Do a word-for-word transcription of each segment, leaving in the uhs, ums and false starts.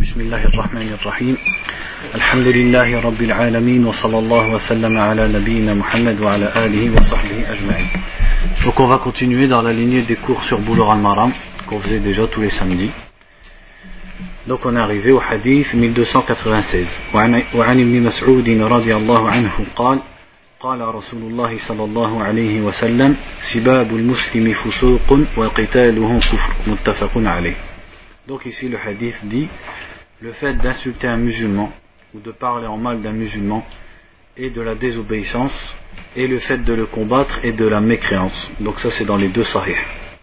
بسم الله الرحمن الرحيم الحمد لله رب العالمين وصلى الله وسلم على نبينا محمد وعلى آله وصحبه أجمعين. Donc on va continuer dans la lignée des cours sur Bulugh al-Maram qu'on faisait déjà tous les samedis. Donc on est arrivé au hadith mille deux cent quatre-vingt-seize. وعن ابن مسعود رضي الله عنه قال قال رسول الله صلى الله عليه وسلم سباب المسلم فسوق وقتاله كفر متفق عليه. Donc ici le hadith dit le fait d'insulter un musulman ou de parler en mal d'un musulman est de la désobéissance, et le fait de le combattre est de la mécréance. Donc ça c'est dans les deux sahih.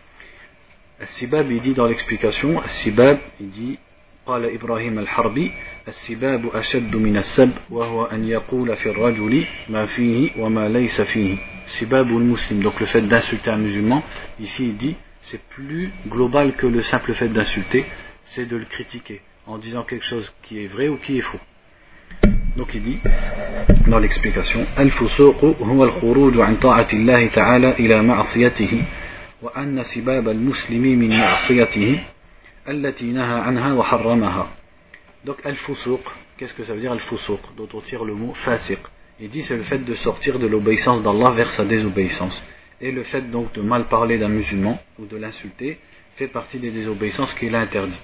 As-Sibab il dit dans l'explication, As-Sibab il dit قال إبراهيم الحربي السباب أشد من السب وهو أن يقول في الرجل ما فيه وما ليس فيه سباب المسلم. Donc le fait d'insulter un musulman ici il dit c'est plus global que le simple fait d'insulter, c'est de le critiquer en disant quelque chose qui est vrai ou qui est faux. Donc il dit dans l'explication الفسوق هو الخروج عن طاعة الله تعالى إلى معصيته وأن سباب المسلم من معصيته التي نهى عنها وحرمها. Donc al-fusuq, qu'est-ce que ça veut dire al-fusuq, dont on tire le mot fasiq? Il dit c'est le fait de sortir de l'obéissance d'Allah vers sa désobéissance. Et le fait donc de mal parler d'un musulman ou de l'insulter fait partie des désobéissances qu'il a interdites.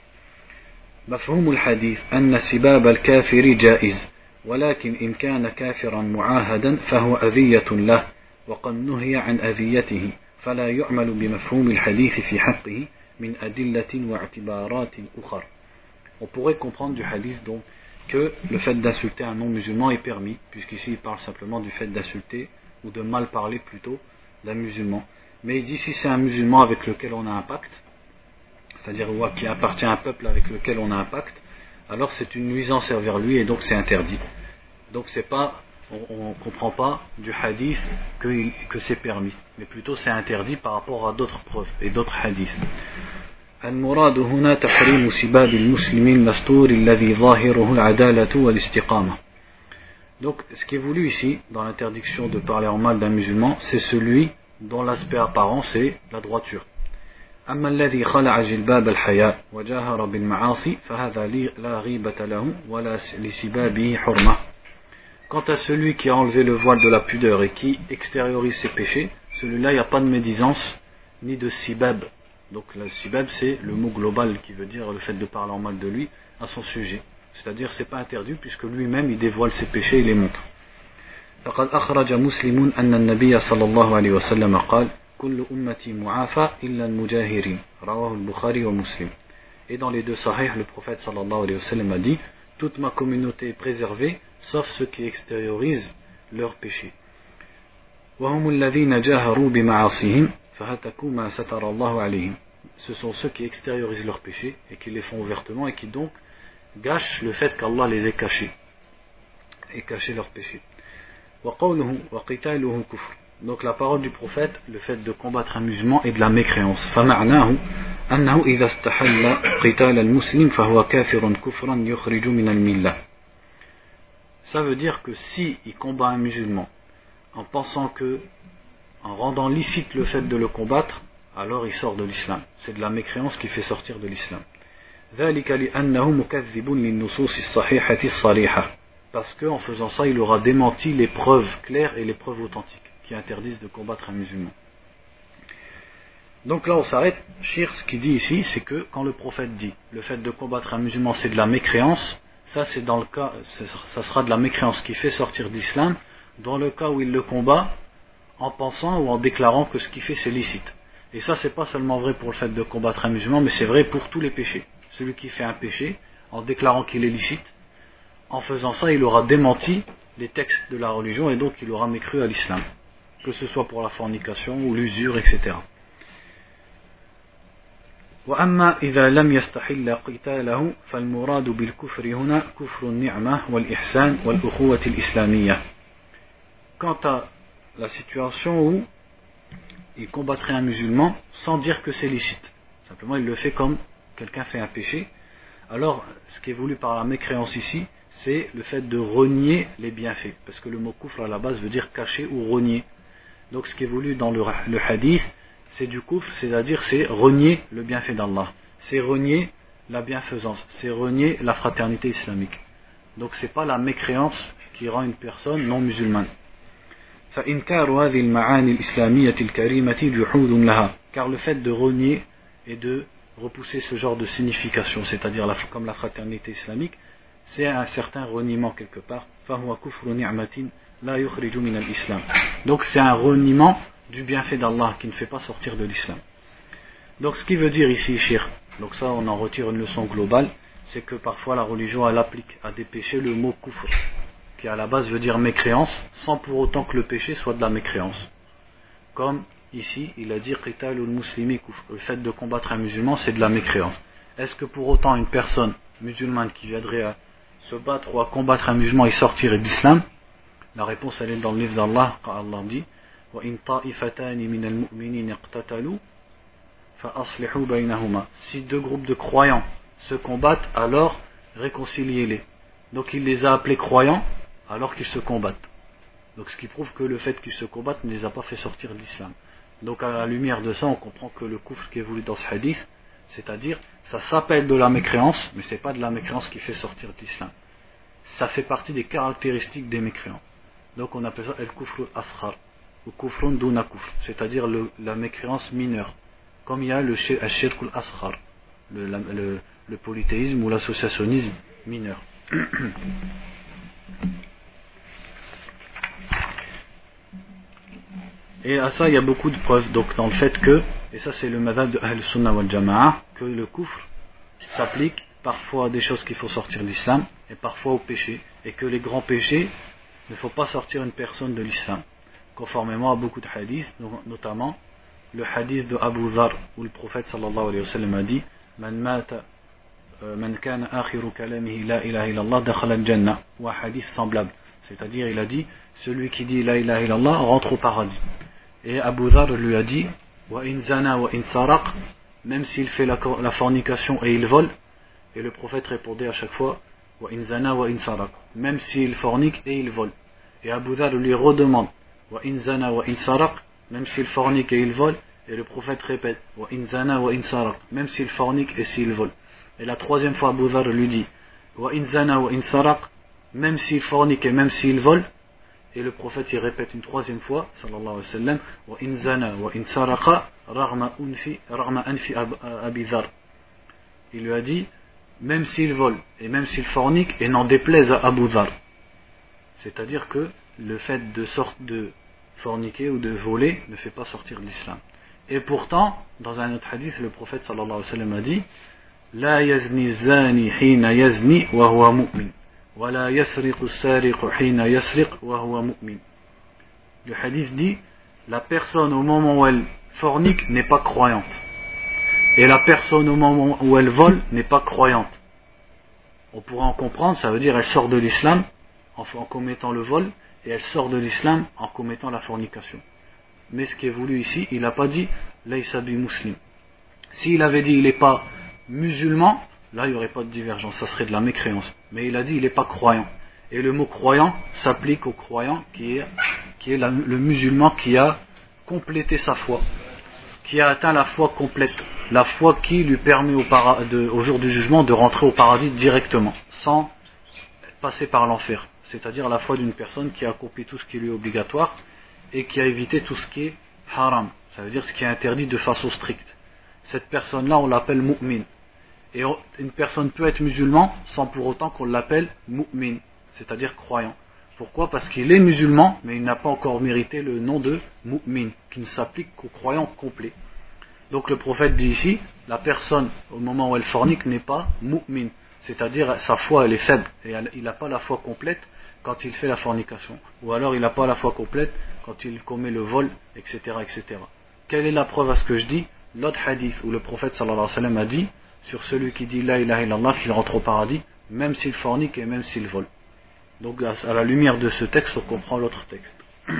مفهوم الحديث أن سباب الكافر جائز ولكن إن كان كافرا معاهدا فهو أذية له وقد نهي عن أذيته فلا يعمل بمفهوم الحديث في حقه من أدلة واعتبارات أخرى. On pourrait comprendre du hadith donc que le fait d'insulter un non-musulman est permis, puisqu'ici il parle simplement du fait d'insulter ou de mal parler plutôt d'un musulman. Mais il dit si c'est un musulman avec lequel on a un pacte, c'est-à-dire qui appartient à un peuple avec lequel on a un pacte, alors c'est une nuisance envers lui et donc c'est interdit. Donc c'est pas, on ne comprend pas du hadith que, que c'est permis, mais plutôt c'est interdit par rapport à d'autres preuves et d'autres hadiths. المراد هنا تحريم سباب المسلم المستور الذي ظاهره العدالة والاستقامة. Donc ce qui est voulu ici dans l'interdiction de parler en mal d'un musulman, c'est celui dont l'aspect apparent c'est la droiture. أما الذي خلع جلباب الحياء وجاهر بالمعاصي فهذا لا غيبة له ولا لسبابه حرمة. Quant à celui qui a enlevé le voile de la pudeur et qui extériorise ses péchés, celui-là il n'y a pas de médisance ni de sibab. Donc le sibab c'est le mot global qui veut dire le fait de parler en mal de lui à son sujet. C'est-à-dire c'est pas interdit puisque lui-même il dévoile ses péchés et les montre. فقد أخرج مسلم أن النبي صلى الله عليه وسلم قال كل أمتي معافى إلا المجاهرين رواه البخاري ومسلم. Et dans les deux sahih le prophète sallallahu alayhi wa sallam a dit toute ma communauté est préservée sauf ceux qui extériorisent leurs péchés. وهم الذين جاهروا بمعاصيهم فهتكوا ما ستر الله عليهم. Ce sont ceux qui extériorisent leurs péchés et qui les font ouvertement et qui donc gâchent le fait qu'Allah les ait cachés et caché leurs péchés. وقوله وقتاله كفر. Donc la parole du prophète, le fait de combattre un musulman est de la mécréance. فمعناه أنه إذا استحل قتال المسلم فهو كافر كفرا يخرج من الملة. Ça veut dire que si il combat un musulman en pensant que, en rendant licite le fait de le combattre, alors il sort de l'islam. C'est de la mécréance qui fait sortir de l'islam. ذلك لأنه مكذب للنصوص الصحيحة الصريحة. Parce qu'en faisant ça, il aura démenti les preuves claires et les preuves authentiques qui interdisent de combattre un musulman. Donc là on s'arrête. Shir, ce qu'il dit ici, c'est que quand le prophète dit le fait de combattre un musulman c'est de la mécréance, ça c'est dans le cas, ça sera de la mécréance qui fait sortir d'islam dans le cas où il le combat en pensant ou en déclarant que ce qu'il fait c'est licite. Et ça c'est pas seulement vrai pour le fait de combattre un musulman, mais c'est vrai pour tous les péchés. Celui qui fait un péché en déclarant qu'il est licite, en faisant ça il aura démenti les textes de la religion et donc il aura mécru à l'islam, que ce soit pour la fornication ou l'usure, et cetera. وأما إذا لم يستحل قتاله فالمراد بالكفر هنا كفر النعمة والإحسان والأخوة الإسلامية. Quant à la situation où il combattrait un musulman sans dire que c'est licite, simplement il le fait comme quelqu'un fait un péché, alors ce qui est voulu par la mécréance ici c'est le fait de renier les bienfaits, parce que le mot kufr à la base veut dire cacher ou renier. Donc ce qui est voulu dans le, le hadith c'est du kufr, c'est-à-dire c'est renier le bienfait d'Allah, c'est renier la bienfaisance, c'est renier la fraternité islamique. Donc c'est pas la mécréance qui rend une personne non musulmane. فإنكار هذه المعاني الإسلامية الكريمة جحود لها, car le fait de renier et de repousser ce genre de signification, c'est-à-dire la, comme la fraternité islamique, c'est un certain reniement quelque part. فهو كفر نعمة لا يخرج من الإسلام. Donc c'est un reniement du bienfait d'Allah qui ne fait pas sortir de l'islam. Donc ce qui veut dire ici shirk, donc ça on en retire une leçon globale, c'est que parfois la religion elle applique à des péchés le mot kufr, qui à la base veut dire mécréance, sans pour autant que le péché soit de la mécréance. Comme ici, il a dit qitalul muslimi kufr, le fait de combattre un musulman c'est de la mécréance. Est-ce que pour autant une personne musulmane qui viendrait à se battre ou à combattre un musulman et sortirait d'islam? La réponse elle est dans le livre d'Allah, quand Allah dit wa in ta'ifatani minal mu'minin iqtatalu fa aslihu baynahuma. Si deux groupes de croyants se combattent, alors réconciliez-les. Donc il les a appelés croyants alors qu'ils se combattent. Donc ce qui prouve que le fait qu'ils se combattent ne les a pas fait sortir de l'islam. Donc à la lumière de ça, on comprend que le kufr qui est voulu dans ce hadith, c'est-à-dire ça s'appelle de la mécréance, mais c'est pas de la mécréance qui fait sortir de l'islam. Ça fait partie des caractéristiques des mécréants. Donc on appelle ça el kufr asghar ou kufrun duna kufr, c'est-à-dire le, la mécréance mineure. Comme il y a le shirk al-asghar, le, le, le polythéisme ou l'associationnisme mineur. Et à ça il y a beaucoup de preuves, donc dans le fait que, et ça c'est le madhab de Ahl Sunnah wal Jama'a, que le kufr s'applique parfois à des choses qu'il faut sortir de l'islam et parfois au péché, et que les grands péchés ne faut pas sortir une personne de l'islam, conformément à beaucoup de hadiths, notamment le hadith de Abu Dhar où le prophète sallallahu alayhi wa sallam a dit man mata man kana akhiru kalamihi la ilaha illallah dakhala al-jannah, ou un hadith semblable, c'est-à-dire il a dit celui qui dit la ilaha illallah rentre au paradis. Et Abu Dhar lui a dit wa in zana wa in saraq, même s'il fait la, la fornication et il vole, et le prophète répondait à chaque fois wa in zana wa in saraq, même s'il fornique et il vole. Et Abu Dhar lui redemande wa in zana wa in saraq, même s'il fornique et il vole, et le prophète répète wa in zana wa in saraq, même s'il fornique et s'il vole. Et la troisième fois Abu Dhar lui dit wa in zana wa in saraq, même s'il fornique et même s'il vole, et le prophète y répète une troisième fois sallallahu alayhi wa sallam wa in zana wa in saraqa raghma unfi raghma anfi Abi Dhar. Il lui a dit même s'il vole et même s'il fornique, et n'en déplaise à Abu Dhar. C'est-à-dire que le fait de sorte de forniquer ou de voler ne fait pas sortir de l'islam. Et pourtant, dans un autre hadith, le prophète sallallahu alayhi wa sallam a dit la yazni zani hina yazni wa huwa mu'min wa la yasriqu as-sariqu hina yasriq wa huwa mu'min. Le hadith dit la personne au moment où elle fornique n'est pas croyante, et la personne au moment où elle vole n'est pas croyante. On pourrait en comprendre, ça veut dire elle sort de l'islam en, en commettant le vol, et elle sort de l'islam en commettant la fornication. Mais ce qui est voulu ici, il n'a pas dit laysa bi muslim. S'il avait dit il n'est pas musulman, là il n'y aurait pas de divergence, ça serait de la mécréance. Mais il a dit il n'est pas croyant. Et le mot croyant s'applique au croyant qui est, qui est la, le musulman qui a complété sa foi, qui a atteint la foi complète, la foi qui lui permet au, para, de, au jour du jugement de rentrer au paradis directement, sans passer par l'enfer. C'est-à-dire la foi d'une personne qui a accompli tout ce qui lui est obligatoire et qui a évité tout ce qui est haram, ça veut dire ce qui est interdit de façon stricte. Cette personne-là, on l'appelle mu'min. Et une personne peut être musulman sans pour autant qu'on l'appelle mu'min, c'est-à-dire croyant. Pourquoi ? Parce qu'il est musulman, mais il n'a pas encore mérité le nom de mu'min, qui ne s'applique qu'aux croyants complets. Donc le prophète dit ici, la personne, au moment où elle fornique, n'est pas mu'min, c'est-à-dire sa foi elle est faible, et il n'a pas la foi complète quand il fait la fornication, ou alors il n'a pas la foi complète quand il commet le vol, et cetera, et cetera. Quelle est la preuve à ce que je dis ? L'autre hadith où le prophète sallallahu alayhi wa sallam a dit sur celui qui dit la ilaha illallah qu'il rentre au paradis, même s'il fornique et même s'il vole. Donc à la lumière de ce texte, on comprend l'autre texte.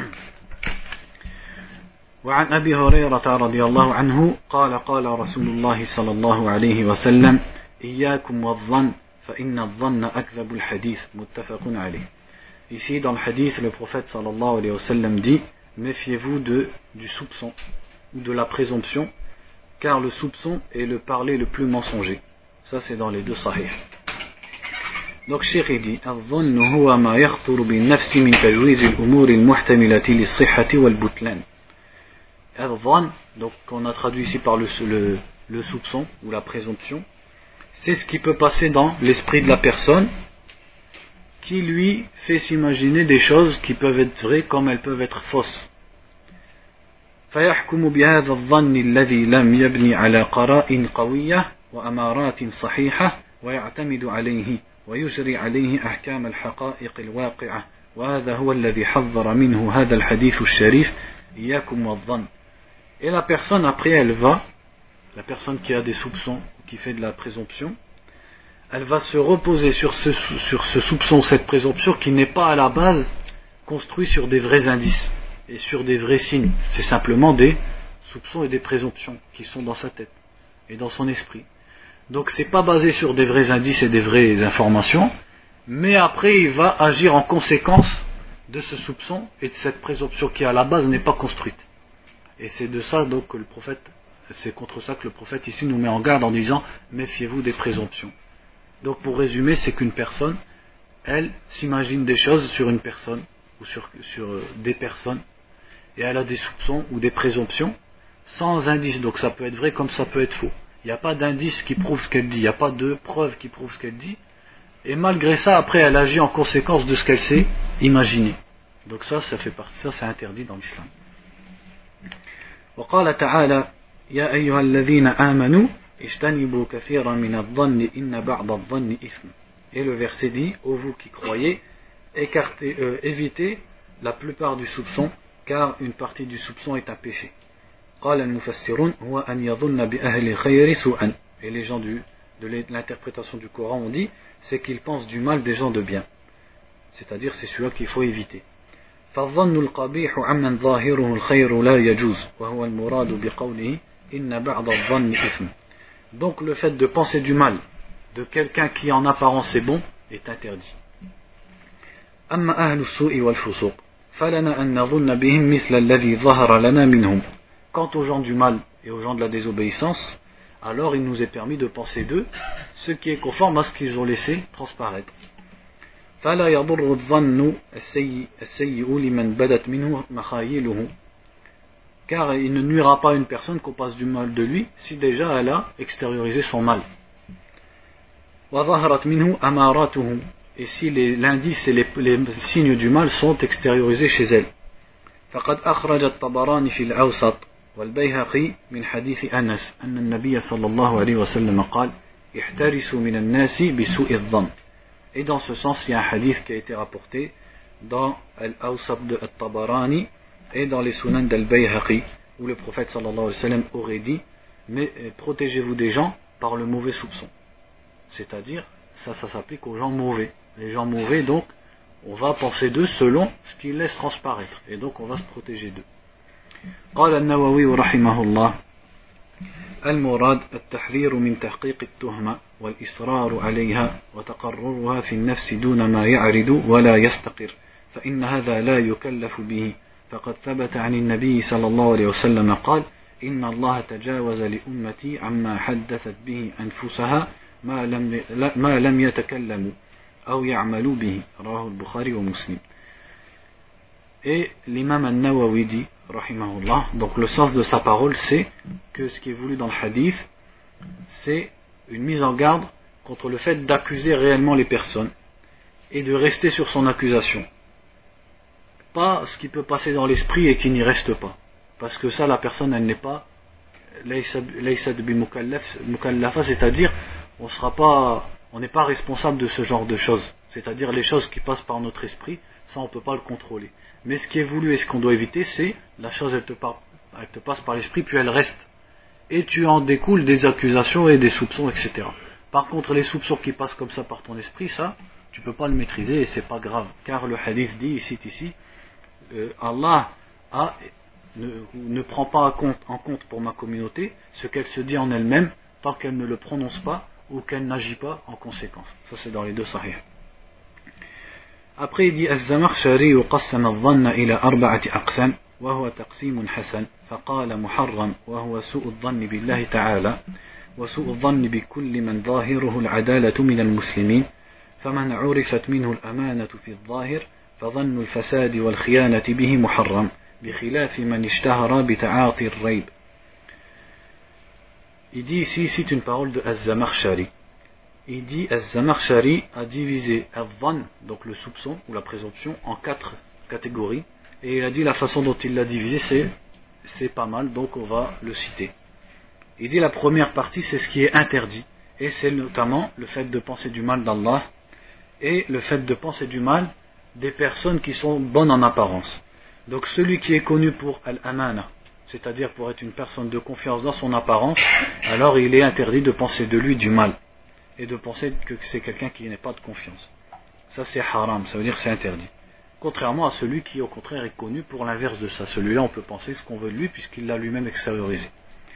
وعن أبي هريرة رضي الله عنه قال قال رسول الله صلى الله عليه وسلم إياكم والظن فإن الظن أكذب الحديث متفق عليه. Ici dans le hadith, le prophète sallallahu alayhi wa sallam dit méfiez-vous de, du soupçon ou de la présomption, car le soupçon est le parler le plus mensonger. Ça c'est dans les deux sahih. Donc Cheikh il dit الظن هو ما يخطر بالنفس من تجويز الأمور المحتملة للصحة والبطلان. الظن, donc qu'on a traduit ici par le, le, le soupçon ou la présomption, c'est ce qui peut passer dans l'esprit de la personne qui lui fait s'imaginer des choses qui peuvent être vraies comme elles peuvent être fausses. فيحكم بهذا الظن الذي لم يبني على قرائن قوية وأمارات صحيحة ويعتمد عليه ويجري عليه أحكام الحقائق الواقعة وهذا هو الذي حذر منه هذا الحديث الشريف إياكم والظن. Et la personne après elle va, la personne qui a des soupçons, qui fait de la présomption, elle va se reposer sur ce, sur ce soupçon, cette présomption qui n'est pas à la base construit sur des vrais indices et sur des vrais signes. C'est simplement des soupçons et des présomptions qui sont dans sa tête et dans son esprit. Donc c'est pas basé sur des vrais indices et des vraies informations, mais après il va agir en conséquence de ce soupçon et de cette présomption qui à la base n'est pas construite. Et c'est de ça donc que le prophète, c'est contre ça que le prophète ici nous met en garde en disant méfiez-vous des présomptions. Donc pour résumer, c'est qu'une personne, elle s'imagine des choses sur une personne ou sur, sur des personnes et elle a des soupçons ou des présomptions sans indice. Donc ça peut être vrai comme ça peut être faux. Il n'y a pas d'indice qui prouve ce qu'elle dit, il n'y a pas de preuve qui prouve ce qu'elle dit. Et malgré ça, après elle agit en conséquence de ce qu'elle s'est imaginé. Donc ça, ça fait partie, ça c'est interdit dans l'islam. وقال تعالى يا أيها الذين آمنوا اجتنبوا كثيرا من الظن إن بعض الظن إثم. Et le verset dit, ô vous qui croyez, écartez, euh, évitez la plupart du soupçon, car une partie du soupçon est un péché. قال المفسرون هو أن يظن بأهل الخير سوءا. Et les gens du, de l'interprétation du Coran ont dit, c'est qu'ils pensent du mal des gens de bien. C'est-à-dire c'est celui-là qu'il faut éviter. فالظن القبيح عمن ظاهره الخير لا يجوز وهو المراد بقوله إن بعض الظن إثم. Donc le fait de penser du mal de quelqu'un qui en apparence est bon est interdit. أما أهل السوء والفسوق فلنا أن نظن بهم مثل الذي ظهر لنا منهم. Quant aux gens du mal et aux gens de la désobéissance, alors il nous est permis de penser d'eux ce qui est conforme à ce qu'ils ont laissé transparaître. فلا يضر الظن السيء السيء لمن بدت منه مخايله. Car il ne nuira pas à une personne qu'on passe du mal de lui si déjà elle a extériorisé son mal. وظهرت منه أماراته. Et si les, l'indice et les, les signes du mal sont extériorisés chez elle. فقد أخرج الطبراني في الأوسط والبيهقي من حديث أنس أن النبي صلى الله عليه وسلم قال احترسوا من الناس بسوء الظن. Et dans ce sens, il y a un hadith qui a été rapporté dans Al-Awsat de Al-Tabarani et dans les Sunan d'Al-Bayhaqi, où le prophète sallallahu alayhi wa sallam aurait dit mais protégez-vous des gens par le mauvais soupçon. C'est-à-dire, ça, ça s'applique aux gens mauvais. Les gens mauvais, donc, on va penser d'eux selon ce qu'ils laissent transparaître. Et donc, on va se protéger d'eux. قال النووي رحمه الله المراد التحذير من تحقيق التهمة والإصرار عليها وتقررها في النفس دون ما يعرض ولا يستقر فإن هذا لا يكلف به فقد ثبت عن النبي صلى الله عليه وسلم قال إن الله تجاوز لأمتي عما حدثت به أنفسها ما لم ما لم يتكلموا أو يعملوا به رواه البخاري ومسلم. Et l'imam al-Nawawi dit, rahimahullah, donc le sens de sa parole, c'est que ce qui est voulu dans le hadith, c'est une mise en garde contre le fait d'accuser réellement les personnes et de rester sur son accusation. Pas ce qui peut passer dans l'esprit et qui n'y reste pas. Parce que ça, la personne, elle n'est pas laysat bi mukallafa, c'est-à-dire, on sera pas, on n'est pas responsable de ce genre de choses. C'est-à-dire les choses qui passent par notre esprit, ça on ne peut pas le contrôler. Mais ce qui est voulu et ce qu'on doit éviter, c'est la chose elle te, par, elle te passe par l'esprit puis elle reste. Et tu en découles des accusations et des soupçons, et cetera. Par contre, les soupçons qui passent comme ça par ton esprit, ça, tu ne peux pas le maîtriser et c'est pas grave. Car le hadith dit ici, ici, euh, Allah a, ne, ne prend pas en compte, en compte pour ma communauté ce qu'elle se dit en elle-même tant qu'elle ne le prononce pas ou qu'elle n'agit pas en conséquence. Ça c'est dans les deux sahih. Après il dit الزمخشري قسم الظن إلى أربعة أقسام وهو تقسيم حسن فقال محرم وهو سوء الظن بالله تعالى وسوء الظن بكل من ظاهره العدالة من المسلمين فمن عرفت منه الأمانة في الظاهر فظن الفساد والخيانة به محرم بخلاف من اشتهر بتعاطي الريب. Il dit ici, c'est une parole de Az-Zamakhshari. Il dit Az-Zamakhshari a divisé Al-Dhann, donc le soupçon ou la présomption, en quatre catégories. Et il a dit la façon dont il l'a divisé, c'est, c'est pas mal, donc on va le citer. Il dit la première partie, c'est ce qui est interdit. Et c'est notamment le fait de penser du mal d'Allah et le fait de penser du mal des personnes qui sont bonnes en apparence. Donc celui qui est connu pour Al-Amana, c'est-à-dire pour être une personne de confiance dans son apparence, alors il est interdit de penser de lui du mal et de penser que c'est quelqu'un qui n'est pas de confiance. Ça c'est haram, ça veut dire que c'est interdit. Contrairement à celui qui au contraire est connu pour l'inverse de ça. Celui-là on peut penser ce qu'on veut de lui puisqu'il l'a lui-même extériorisé.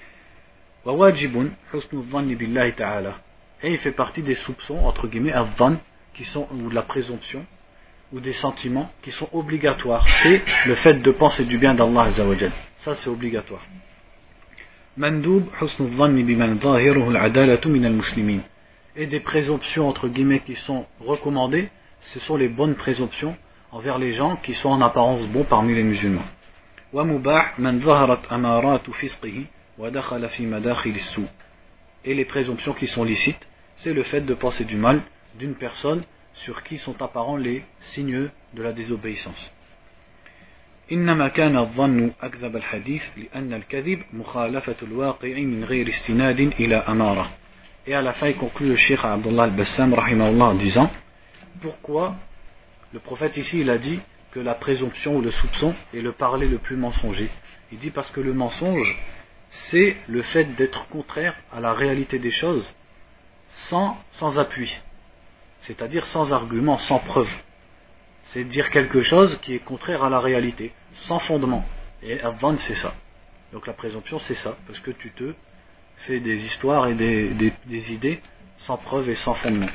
Et il fait partie des soupçons, entre guillemets, al-dhann, qui sont, ou de la présomption, ou des sentiments qui sont obligatoires. C'est le fait de penser du bien d'Allah Azza wa Jal. Ça c'est obligatoire. Mandoub husnul dhanni biman zahiruhu al-adalatu min al-muslimin. Et des présomptions entre guillemets qui sont recommandées, ce sont les bonnes présomptions envers les gens qui sont en apparence bons parmi les musulmans. Wa mubah man zaharat amaratu fisqihi wa dakhala fi madakhil as-su. Et les présomptions qui sont licites, c'est le fait de penser du mal d'une personne sur qui sont apparents les signes de la désobéissance. إنما كان الظن أكذب الحديث لأن الكذب مخالفة الواقع من غير استناد إلى أمارة. Et à la fin il conclut le Cheikh Abdullah al-Bassam rahimahullah en disant pourquoi le prophète ici il a dit que la présomption ou le soupçon est le parler le plus mensonger. Il dit parce que le mensonge c'est le fait d'être contraire à la réalité des choses sans, sans appui, c'est-à-dire sans argument, sans preuve. C'est dire quelque chose qui est contraire à la réalité, sans fondement. Et al-dhann c'est ça. Donc la présomption c'est ça, parce que tu te fais des histoires et des, des, des idées sans preuve et sans fondement.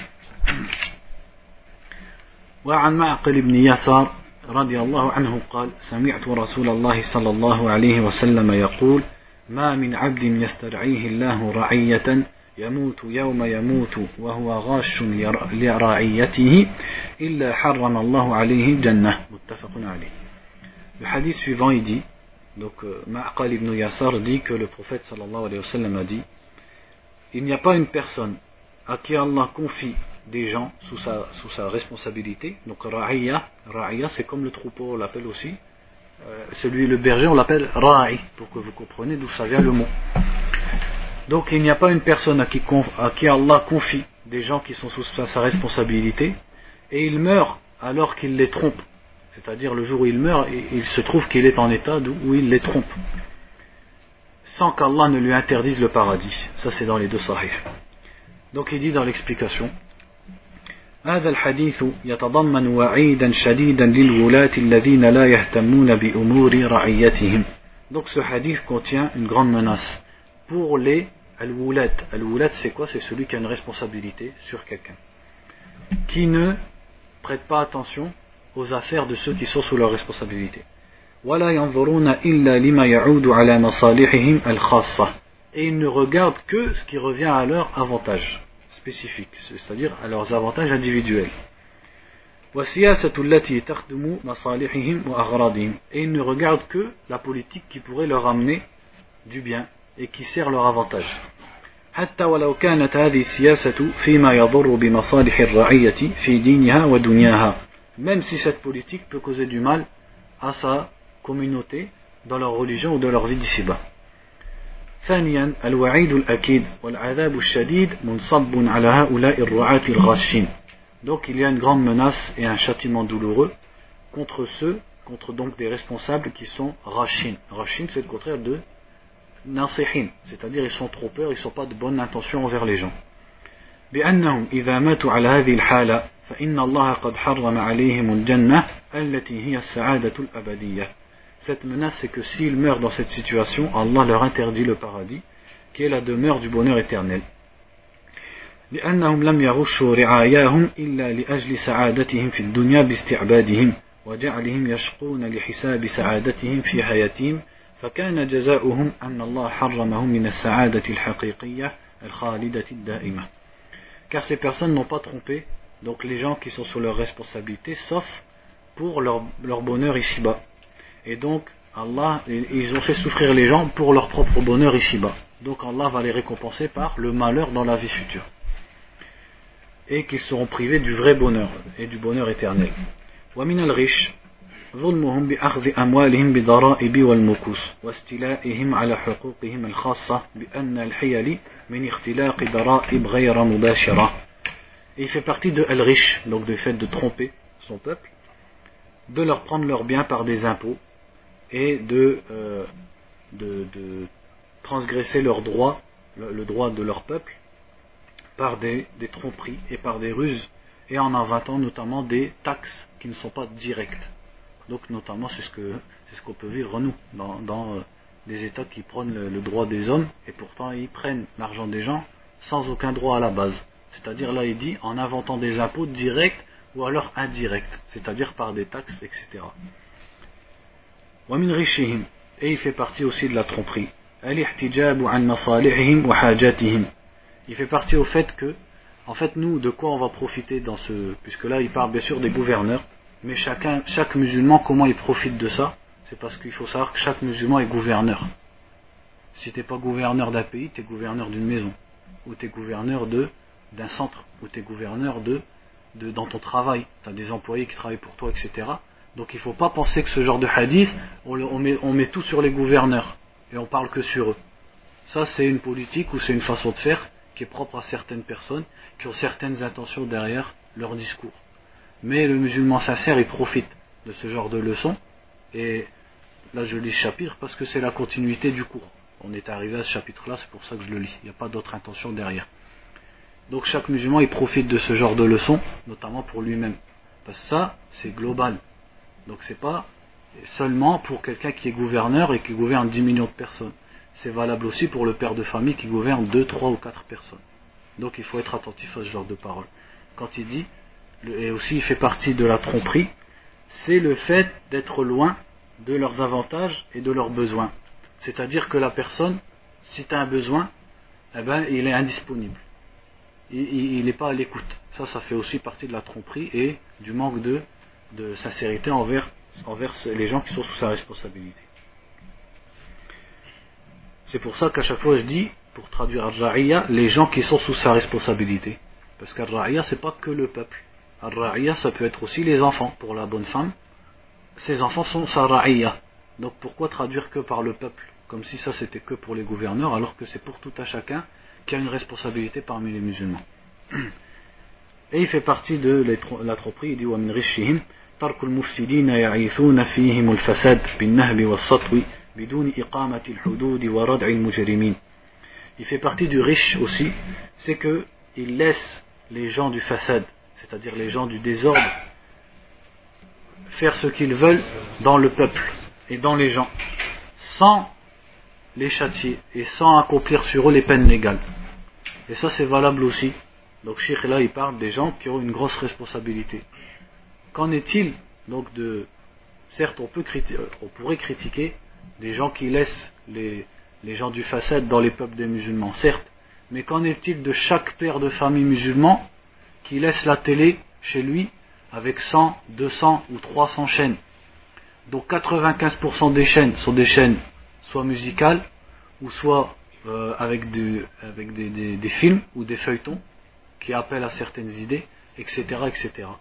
وعن معقل بن يسار رضي الله عنه قال سمعت رسول الله صلى الله عليه وسلم يقول ما من عبد يسترعيه الله رعية يموت يوم يموت وهو غاش لرعيته إلا حرم الله عليه جنة متفق عليه. Le hadith suivant il dit, donc Ma'qal ibn Yasar dit que le prophète sallallahu alayhi wa sallam a dit il n'y a pas une personne à qui Allah confie des gens sous sa, sous sa responsabilité. Donc Ra'iyya, Ra'iyya c'est comme le troupeau on l'appelle aussi, euh, celui le berger on l'appelle Ra'i, pour que vous compreniez d'où ça vient le mot. Donc il n'y a pas une personne à qui, à qui Allah confie des gens qui sont sous sa responsabilité et il meurt alors qu'il les trompe, c'est-à-dire le jour où il meurt il se trouve qu'il est en état où il les trompe sans qu'Allah ne lui interdise le paradis. Ça c'est dans les deux sahih. Donc il dit dans l'explication هذا الحديث يتضمن وعيدا شديدا للولاة الذين لا يهتمون بأمور رعيتهم. Donc ce hadith contient une grande menace pour les al-wulat. Al-wulat c'est quoi? C'est celui qui a une responsabilité sur quelqu'un, qui ne prête pas attention aux affaires de ceux qui sont sous leur responsabilité. ولا ينظرون إلا لما يعود على مصالحهم الخاصة. Et ils ne regardent que ce qui revient à leur avantage spécifique, c'est-à-dire à leurs avantages individuels. وَالسِّيَاسَةُ الَّتِي تَخْدُمُ مَصَالِحِهِمْ وَأَغْرَاضِهِمْ. Et ils ne regardent que la politique qui pourrait leur amener du bien et qui sert leur avantage. حتى ولو كانت هذه السياسة فيما يضر بمصالح الرعية في دينها ودنياها. Même si cette politique peut causer du mal à sa communauté dans leur religion ou dans leur vie d'ici-bas. ثانيا الوعيد الأكيد والعذاب الشديد منصب على هؤلاء الرعاة الغاشين. Donc il y a une grande menace et un châtiment douloureux contre ceux, contre donc des responsables qui sont rashin. Rashin c'est le contraire de nasihin, c'est-à-dire ils sont trompeurs, ils ne sont pas de bonne intention envers les gens. بأنهم إذا ماتوا على هذه الحالة فإن الله قد حرم عليهم الجنة التي هي السعادة الأبدية. Cette menace, c'est que s'ils meurent dans cette situation, Allah leur interdit le paradis, qui est la demeure du bonheur éternel. لأنهم لم يغشوا رعاياهم إلا لأجل سعادتهم في الدنيا باستعبادهم وجعلهم يشقون لحساب سعادتهم في حياتهم فكان جزاؤهم أن الله حرمهم من السعادة الحقيقية الخالدة الدائمة. Car ces personnes n'ont pas trompé donc les gens qui sont sous leur responsabilité sauf pour leur, leur bonheur ici-bas. Et donc Allah, ils ont fait souffrir les gens pour leur propre bonheur ici-bas. Donc Allah va les récompenser par le malheur dans la vie future. Et qu'ils seront privés du vrai bonheur et du bonheur éternel. ومن الغش ظلمهم بأخذ أموالهم بضرائب والمكوس واستيلائهم على حقوقهم الخاصة بأن الحيل من اختلاق ضرائب غير مباشرة. Et il fait partie de al-rish, donc du fait de tromper son peuple, de leur prendre leurs biens par des impôts et de, euh, de, de transgresser leurs droits, le, le droit de leur peuple, par des, des tromperies et par des ruses, et en inventant notamment des taxes qui ne sont pas directes. Donc notamment c'est ce que c'est ce qu'on peut vivre nous dans, dans euh, des États qui prennent le, le droit des hommes et pourtant ils prennent l'argent des gens sans aucun droit à la base. C'est-à-dire là il dit en inventant des impôts directs ou alors indirects, c'est-à-dire par des taxes, et cetera. ومن رشهم, et il fait partie aussi de la tromperie. الاحتجاب عن مصالحهم وحاجاتهم. Il fait partie au fait que, en fait, nous, de quoi on va profiter dans ce... Puisque là, il parle bien sûr des gouverneurs, mais chacun, chaque musulman, comment il profite de ça? C'est parce qu'il faut savoir que chaque musulman est gouverneur. Si tu n'es pas gouverneur d'un pays, tu es gouverneur d'une maison, ou tu es gouverneur de, d'un centre, ou tu es gouverneur de, de, dans ton travail. Tu as des employés qui travaillent pour toi, et cetera. Donc il ne faut pas penser que ce genre de hadith, on, on, met, on met tout sur les gouverneurs, et on parle que sur eux. Ça, c'est une politique ou c'est une façon de faire qui est propre à certaines personnes qui ont certaines intentions derrière leur discours. Mais le musulman sincère, il profite de ce genre de leçons, et là je lis ce chapitre parce que c'est la continuité du cours. On est arrivé à ce chapitre-là, c'est pour ça que je le lis. Il n'y a pas d'autre intention derrière. Donc chaque musulman, il profite de ce genre de leçons, notamment pour lui-même. Parce que ça, c'est global. Donc c'est pas seulement pour quelqu'un qui est gouverneur et qui gouverne dix millions de personnes. C'est valable aussi pour le père de famille qui gouverne deux, trois ou quatre personnes. Donc il faut être attentif à ce genre de paroles. Quand il dit, et aussi il fait partie de la tromperie, c'est le fait d'être loin de leurs avantages et de leurs besoins. C'est-à-dire que la personne, si tu as un besoin, eh ben, il est indisponible. Il n'est pas à l'écoute. Ça, ça fait aussi partie de la tromperie et du manque de, de sincérité envers, envers les gens qui sont sous sa responsabilité. C'est pour ça qu'à chaque fois je dis, pour traduire Ar-Ra'iyya, les gens qui sont sous sa responsabilité. Parce qu'Ar-Ra'iyya, c'est pas que le peuple. Ar-Ra'iyya, ça peut être aussi les enfants. Pour la bonne femme, ses enfants sont sa Ra'iyya. Donc pourquoi traduire que par le peuple? Comme si ça c'était que pour les gouverneurs, alors que c'est pour tout un chacun qui a une responsabilité parmi les musulmans. Et il fait partie de la tromperie, il dit وَمِنْ رِشِّهِمْ تَرْكُ الْمُفْسِدِينَ يَعِيثُونَ فِيهِمُ الْفَسَادِ بِالنَّهْبِ وَالسَّطْوِ بدون إقامة الحدود وردع المجرمين. Il fait partie du riche aussi, c'est que il laisse les gens du fasad, c'est-à-dire les gens du désordre, faire ce qu'ils veulent dans le peuple et dans les gens, sans les châtier et sans accomplir sur eux les peines légales. Et ça c'est valable aussi. Donc Cheikh là il parle des gens qui ont une grosse responsabilité. Qu'en est-il donc de... Certes on, peut criti... on pourrait critiquer des gens qui laissent les, les gens du fasad dans les peuples des musulmans, certes, mais qu'en est-il de chaque père de famille musulman qui laisse la télé chez lui avec cent, deux cents ou trois cents chaînes? Donc quatre-vingt-quinze pour cent des chaînes sont des chaînes soit musicales ou soit euh, avec, du, avec des, des, des films ou des feuilletons qui appellent à certaines idées, et cetera, et cetera.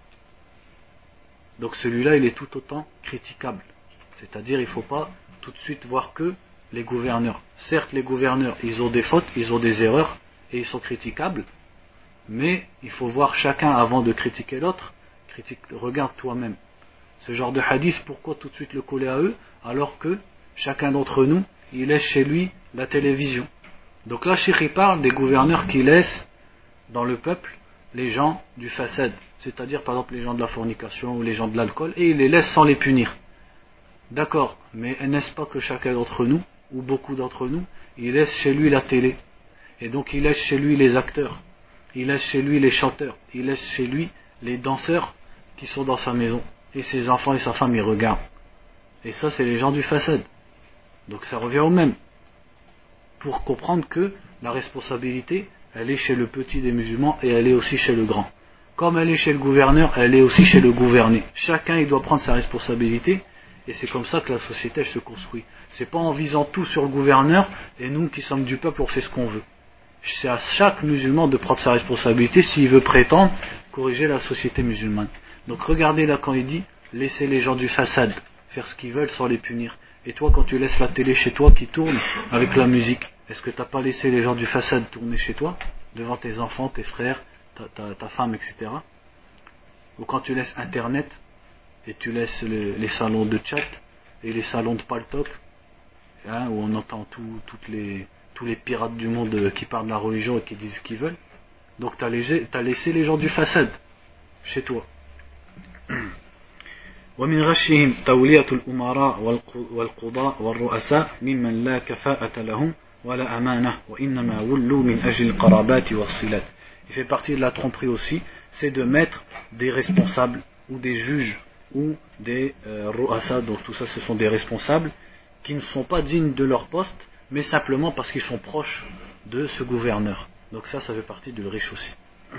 Donc celui-là il est tout autant critiquable. C'est-à-dire il ne faut pas tout de suite voir que les gouverneurs. Certes les gouverneurs ils ont des fautes, ils ont des erreurs et ils sont critiquables, mais il faut voir chacun avant de critiquer l'autre. Critique, regarde toi-même. Ce genre de hadith, pourquoi tout de suite le coller à eux alors que chacun d'entre nous il laisse chez lui la télévision. Donc là Cheikh il parle des gouverneurs qui laissent dans le peuple les gens du fasad, c'est-à-dire par exemple les gens de la fornication ou les gens de l'alcool, et il les laisse sans les punir. D'accord, mais n'est-ce pas que chacun d'entre nous, ou beaucoup d'entre nous, il laisse chez lui la télé, et donc il laisse chez lui les acteurs, il laisse chez lui les chanteurs, il laisse chez lui les danseurs qui sont dans sa maison. et ses enfants et sa femme ils regardent. Et ça c'est les gens du fasad. Donc ça revient au même. Pour comprendre que la responsabilité, elle est chez le petit des musulmans et elle est aussi chez le grand. Comme elle est chez le gouverneur, elle est aussi chez le gouverné. Chacun il doit prendre sa responsabilité et c'est comme ça que la société elle se construit. C'est pas en visant tout sur le gouverneur et nous qui sommes du peuple on fait ce qu'on veut. C'est à chaque musulman de prendre sa responsabilité s'il veut prétendre corriger la société musulmane. Donc regardez là quand il dit laissez les gens du fasad faire ce qu'ils veulent sans les punir. Et toi quand tu laisses la télé chez toi qui tourne avec la musique, est-ce que tu n'as pas laissé les gens du fasad tourner chez toi devant tes enfants, tes frères, ta, ta, ta femme, et cetera. Ou quand tu laisses internet et tu laisses le, les salons de chat et les salons de paltok, hein, où on entend tout, toutes les, tous les pirates du monde qui parlent de la religion et qui disent ce qu'ils veulent. Donc tu as laissé les gens du fasad chez toi. ومن غشهم تولية الأمراء والقضاء والرؤساء ممن لا كفاءة لهم ولا أمانة وإنما ولوا من أجل القرابات والصلات. Il fait partie de la tromperie aussi, c'est de mettre des responsables ou des juges ou des euh, ru'asa, donc tout ça ce sont des responsables qui ne sont pas dignes de leur poste, mais simplement parce qu'ils sont proches de ce gouverneur. Donc ça, ça fait partie du riche aussi.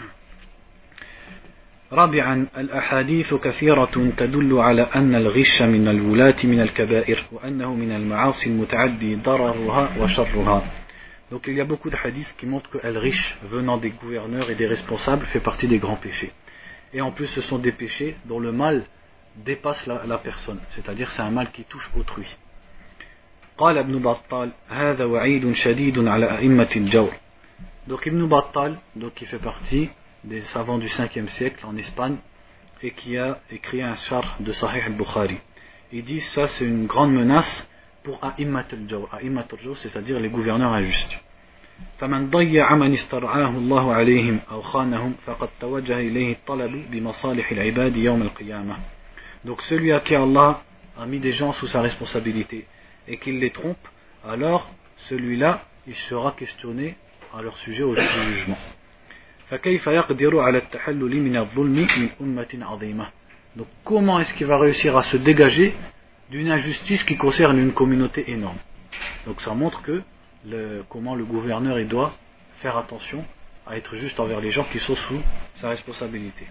رابعا الأحاديث كثيرة تدل على أن الغش من الولاة من الكبائر وأنه من المعاصي المتعدي ضررها وشرها. Donc il y a beaucoup de hadiths qui montrent que al-rish venant des gouverneurs et des responsables fait partie des grands péchés. Et en plus ce sont des péchés dont le mal dépasse la, la personne, c'est-à-dire c'est un mal qui touche autrui. قال ابن بطال هذا وعيد شديد على أئمة الجور. Donc Ibn Battal, donc qui fait partie des savants du cinquième siècle en Espagne et qui a écrit un charh de Sahih al-Bukhari. Il dit ça c'est une grande menace pour A'immat al-Jawr. A'immat al-Jawr, c'est-à-dire les gouverneurs injustes. فمن ضيع من استرعاه الله عليهم أو خانهم فقد توجه إليه الطلب بمصالح العباد يوم القيامة. Donc celui à qui Allah a mis des gens sous sa responsabilité et qu'il les trompe, alors celui-là il sera questionné à leur sujet au jour du jugement. فكيف يقدر على التحلل من الظلم من أمة عظيمة. Donc comment est-ce qu'il va réussir à se dégager d'une injustice qui concerne une communauté énorme. Donc ça montre que le, comment le gouverneur il doit faire attention à être juste envers les gens qui sont sous sa responsabilité.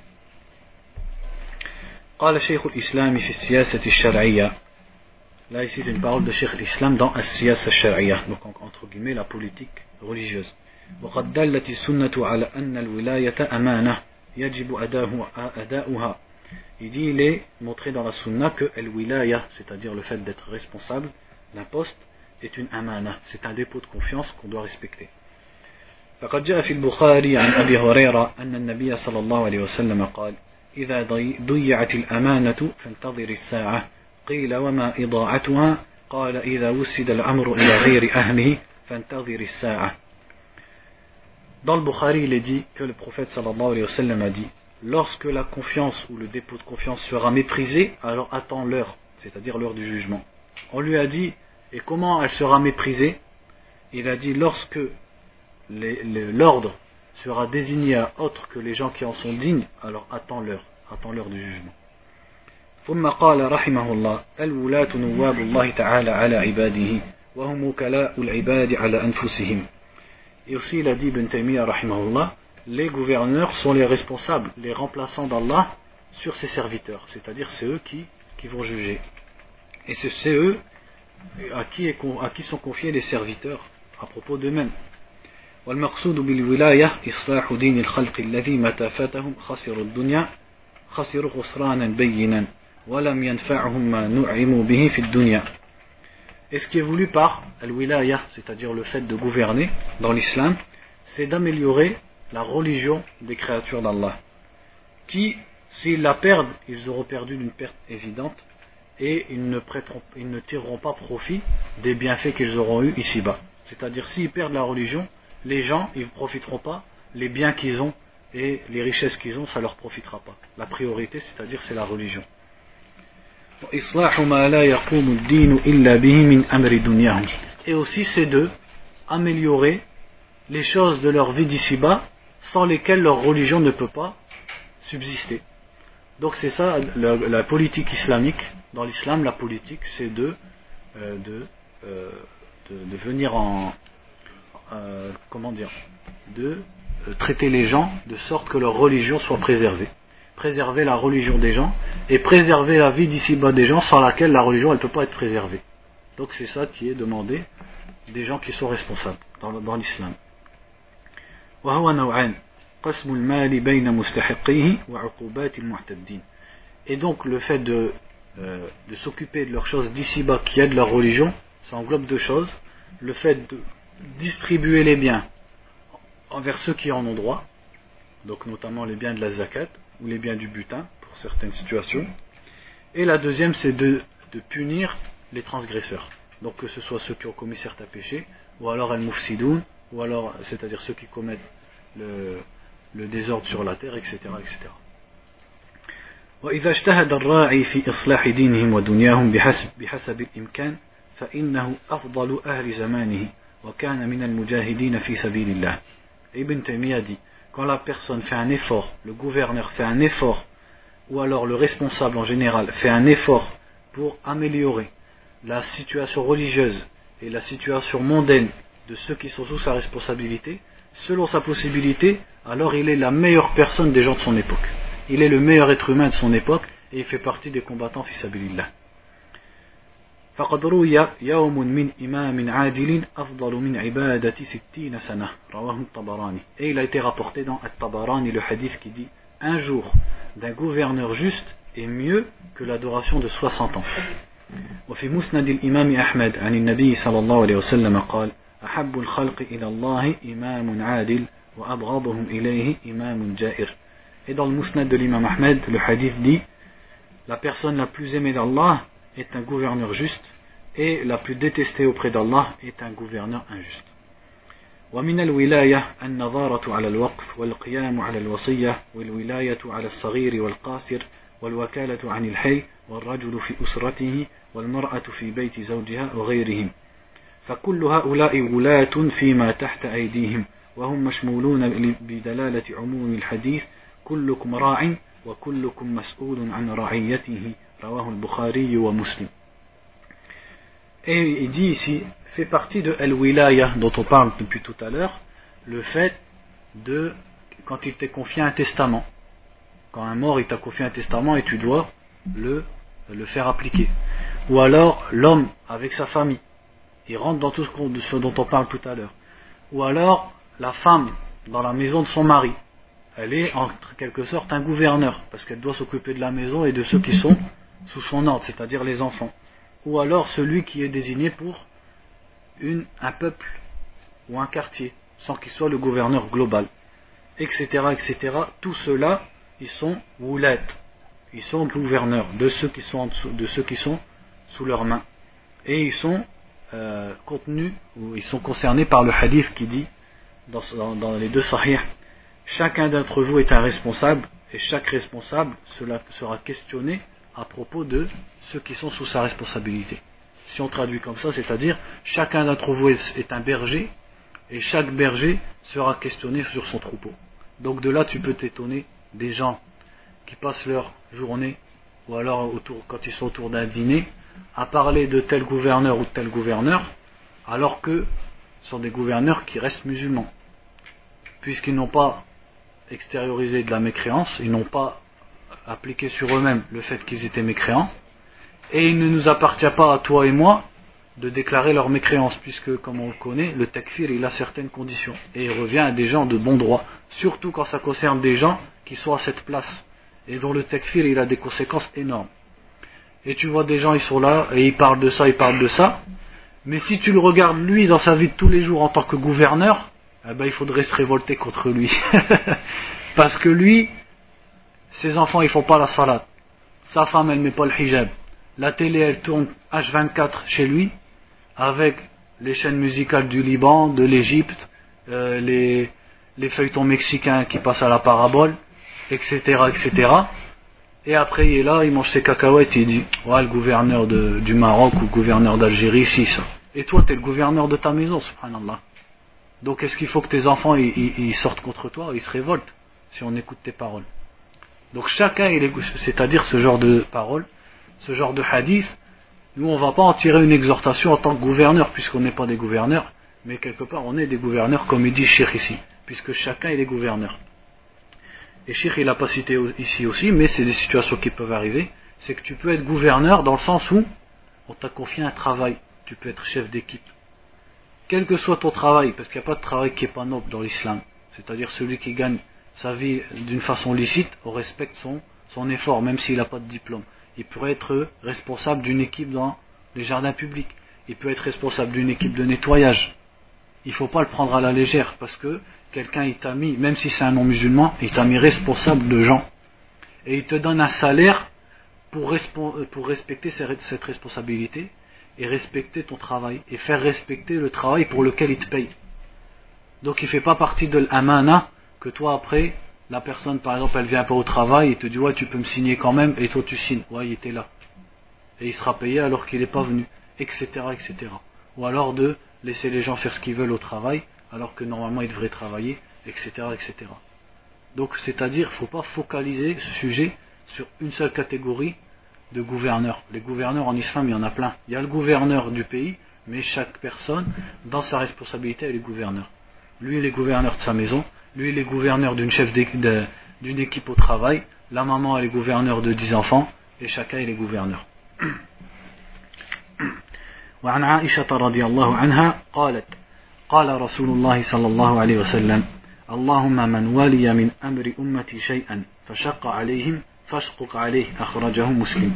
قال شيخ الإسلام في السياسة الشرعية. Là ici c'est une parole de Cheikh l'Islam dans السياسة الشرعية, donc entre guillemets la politique religieuse. وقد دلت السنة على أن الولاية أمانة يجب أداؤها. Il dit, il est montré dans la sunna que al-wilaya, c'est-à-dire le fait d'être responsable d'un poste, est une amana, c'est un dépôt de confiance qu'on doit respecter. فقد جاء في البخاري عن أبي هريرة أن النبي صلى الله عليه وسلم قال إذا ضيعت الأمانة فانتظر الساعة قيل وما إضاعتها قال إذا وسد الأمر إلى غير أهله فانتظر الساعة. Dans le Bukhari, il est dit que le prophète sallallahu alayhi wa sallam a dit lorsque la confiance ou le dépôt de confiance sera méprisé, alors attends l'heure, c'est-à-dire l'heure du jugement. On lui a dit, et comment elle sera méprisée? Il a dit lorsque les, les, l'ordre sera désigné à autre que les gens qui en sont dignes, alors attends l'heure, attends l'heure du jugement. ثم قال رحمه الله الولاة نواب الله تعالى على عباده وهم وكلاء العباد على أنفسهم. Et aussi il a dit Ibn Taymiyyah rahimahullah, les gouverneurs sont les responsables, les remplaçants d'Allah sur ses serviteurs, c'est-à-dire c'est eux qui, qui vont juger. Et c'est, c'est eux à qui, est, à qui sont confiés les serviteurs à propos d'eux-mêmes. والمقصود بالولاية إصلاح دين الخلق الذي متى فاتهم خسروا الدنيا خسروا خسرانا بينا ولم ينفعهم ما نعموا به في الدنيا. Et ce qui est voulu par al-wilaya, c'est-à-dire le fait de gouverner dans l'islam, c'est d'améliorer la religion des créatures d'Allah, qui, s'ils la perdent, ils auront perdu d'une perte évidente, et ils ne, prêteront, ils ne tireront pas profit des bienfaits qu'ils auront eus ici-bas. C'est-à-dire, s'ils perdent la religion, les gens, ils ne profiteront pas, les biens qu'ils ont et les richesses qu'ils ont, ça ne leur profitera pas. La priorité, c'est-à-dire, c'est la religion. Et aussi c'est de améliorer les choses de leur vie d'ici-bas sans lesquelles leur religion ne peut pas subsister. Donc c'est ça, la, la politique islamique. Dans l'islam, la politique, c'est de, euh, de, euh, de, de venir en, euh, comment dire, de euh, traiter les gens de sorte que leur religion soit préservée. Préserver la religion des gens et préserver la vie d'ici-bas des gens sans laquelle la religion elle peut pas être préservée. Donc c'est ça qui est demandé des gens qui sont responsables dans, dans l'islam. Et donc le fait de, euh, de s'occuper de leurs choses d'ici-bas qui aident leur religion, ça englobe deux choses. Le fait de distribuer les biens envers ceux qui en ont droit, donc notamment les biens de la zakat ou les biens du butin pour certaines situations. Et la deuxième, c'est de, de punir les transgresseurs. Donc que ce soit ceux qui ont commis certains péchés, ou alors al-mufsidoun, ou alors, c'est-à-dire ceux qui commettent le, le désordre sur la terre, et cetera, et cetera. وإذا اجتهد الراعي في إصلاح دينهم ودنياهم بحسب بحسب الإمكان فإنه أفضل أهل زمانه وكان من المجاهدين في سبيل الله. Ibn Taymiyyah dit, quand la personne fait un effort, le gouverneur fait un effort, ou alors le responsable en général fait un effort pour améliorer la situation religieuse et la situation mondaine de ceux qui sont sous sa responsabilité, selon sa possibilité, alors il est la meilleure personne des gens de son époque. Il est le meilleur être humain de son époque et il fait partie des combattants fi sabilillah. فقد روي يوم من إمام عادل أفضل من عبادة ستين سنة رواه الطبراني. Et il a été rapporté dans At-Tabarani le hadith qui dit un jour d'un gouverneur juste est mieux que l'adoration de soixante ans. وفي مسند الإمام أحمد عن النبي صلى الله عليه وسلم قال أحب الخلق إلى الله إمام عادل وأبغضهم إليه إمام جائر. Et dans le Musnad de l'imam Ahmed, le hadith dit la personne la plus aimée d'Allah est un gouverneur juste et la plus détestée auprès d'Allah est un gouverneur injuste. ومن الولاية النظارة على الوقف والقيام على الوصية والولاية على الصغير والقاصر والوكالة عن الحي والرجل في أسرته والمرأة في بيت زوجها وغيرهم فكل هؤلاء ولاة فيما تحت أيديهم وهم مشمولون بدلالة عموم الحديث كلكم راع وكلكم مسؤول عن رعيته رواه البخاري ومسلم. Et il dit ici, fait partie de al-wilaya dont on parle depuis tout à l'heure, le fait de, quand il t'est confié un testament, quand un mort il t'a confié un testament et tu dois le, le faire appliquer. Ou alors l'homme avec sa famille, il rentre dans tout ce dont on parle tout à l'heure. Ou alors la femme dans la maison de son mari, elle est en quelque sorte un gouverneur, parce qu'elle doit s'occuper de la maison et de ceux qui sont sous son ordre, c'est-à-dire les enfants. Ou alors celui qui est désigné pour une, un peuple ou un quartier, sans qu'il soit le gouverneur global, et cetera, et cetera. Tout cela, ils sont woulat, ils sont gouverneurs de ceux qui sont en dessous, de ceux qui sont sous leurs mains, et ils sont euh, contenus ou ils sont concernés par le hadith qui dit dans, dans, dans les deux sahih, chacun d'entre vous est un responsable et chaque responsable cela sera questionné à propos de ceux qui sont sous sa responsabilité. Si on traduit comme ça, c'est-à-dire chacun d'entre vous est un berger et chaque berger sera questionné sur son troupeau. Donc de là tu peux t'étonner des gens qui passent leur journée ou alors autour, quand ils sont autour d'un dîner à parler de tel gouverneur ou de tel gouverneur alors que ce sont des gouverneurs qui restent musulmans puisqu'ils n'ont pas extériorisé de la mécréance, ils n'ont pas appliqué sur eux-mêmes le fait qu'ils étaient mécréants. Et il ne nous appartient pas à toi et moi de déclarer leur mécréance, puisque, comme on le connaît, le takfir, il a certaines conditions. Et il revient à des gens de bon droit, surtout quand ça concerne des gens qui sont à cette place, et dont le takfir, il a des conséquences énormes. Et tu vois des gens, ils sont là, et ils parlent de ça, ils parlent de ça, mais si tu le regardes, lui, dans sa vie de tous les jours, en tant que gouverneur, eh ben, il faudrait se révolter contre lui. Parce que lui, ses enfants, ils font pas la salat. Sa femme, elle met pas le hijab. La télé, elle tourne H vingt-quatre chez lui, avec les chaînes musicales du Liban, de l'Égypte, euh, les, les feuilletons mexicains qui passent à la parabole, et cetera, et cetera. Et après, il est là, il mange ses cacahuètes, et il dit, ouais, le gouverneur de, du Maroc ou le gouverneur d'Algérie, si, ça. Et toi, t'es le gouverneur de ta maison, subhanallah. Donc, est-ce qu'il faut que tes enfants, ils, ils, ils sortent contre toi, ils se révoltent, si on écoute tes paroles? Donc chacun, il est, c'est-à-dire ce genre de parole, ce genre de hadith, nous on ne va pas en tirer une exhortation en tant que gouverneur, puisqu'on n'est pas des gouverneurs, mais quelque part on est des gouverneurs, comme il dit Cheikh ici, puisque chacun il est gouverneur. Et Cheikh il n'a pas cité ici aussi, mais c'est des situations qui peuvent arriver, c'est que tu peux être gouverneur dans le sens où on t'a confié un travail, tu peux être chef d'équipe. Quel que soit ton travail, parce qu'il n'y a pas de travail qui n'est pas noble dans l'islam, c'est-à-dire celui qui gagne sa vie d'une façon licite, on respecte son, son effort, même s'il n'a pas de diplôme. Il pourrait être responsable d'une équipe dans les jardins publics, il peut être responsable d'une équipe de nettoyage. Il ne faut pas le prendre à la légère, parce que quelqu'un il t'a mis, même si c'est un non-musulman, il t'a mis responsable de gens. Et il te donne un salaire pour, respo- pour respecter cette responsabilité, et respecter ton travail, et faire respecter le travail pour lequel il te paye. Donc il ne fait pas partie de l'amana, que toi après, la personne par exemple elle vient pas au travail et te dit ouais tu peux me signer quand même, et toi tu signes, ouais il était là. Et il sera payé alors qu'il n'est pas venu, et cetera et cetera. Ou alors de laisser les gens faire ce qu'ils veulent au travail, alors que normalement ils devraient travailler, et cetera et cetera. Donc c'est-à-dire il ne faut pas focaliser ce sujet sur une seule catégorie de gouverneurs. Les gouverneurs en islam il y en a plein. Il y a le gouverneur du pays, mais chaque personne dans sa responsabilité elle est gouverneur. Lui il est gouverneur de sa maison, lui il est gouverneur d'une chef de, d'une équipe au travail, la maman elle est gouverneur de dix enfants, et chacun il est gouverneur. وعن عائشة رضي الله عنها قالت قال رسول الله صلى الله عليه وسلم اللهم من ولي من أمر أمتي شيئا فشق عليهم فاشقق عليه أخرجه مسلم.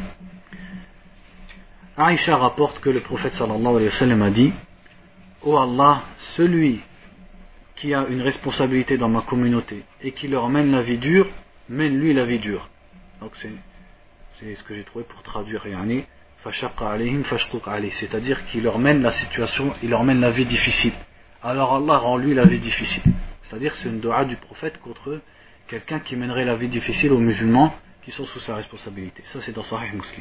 Aïcha rapporte que le prophète sallallahu alayhi wa sallam a dit: Ô Allah, celui qui a une responsabilité dans ma communauté et qui leur mène la vie dure, mène lui la vie dure. Donc c'est, c'est ce que j'ai trouvé pour traduire yani, fashaqqa alayhim fashquq alayh, c'est-à-dire qu'il leur mène la situation, il leur mène la vie difficile. Alors Allah rend lui la vie difficile. C'est-à-dire que c'est une dua du prophète contre quelqu'un qui mènerait la vie difficile aux musulmans qui sont sous sa responsabilité. Ça c'est dans Sahih Muslim.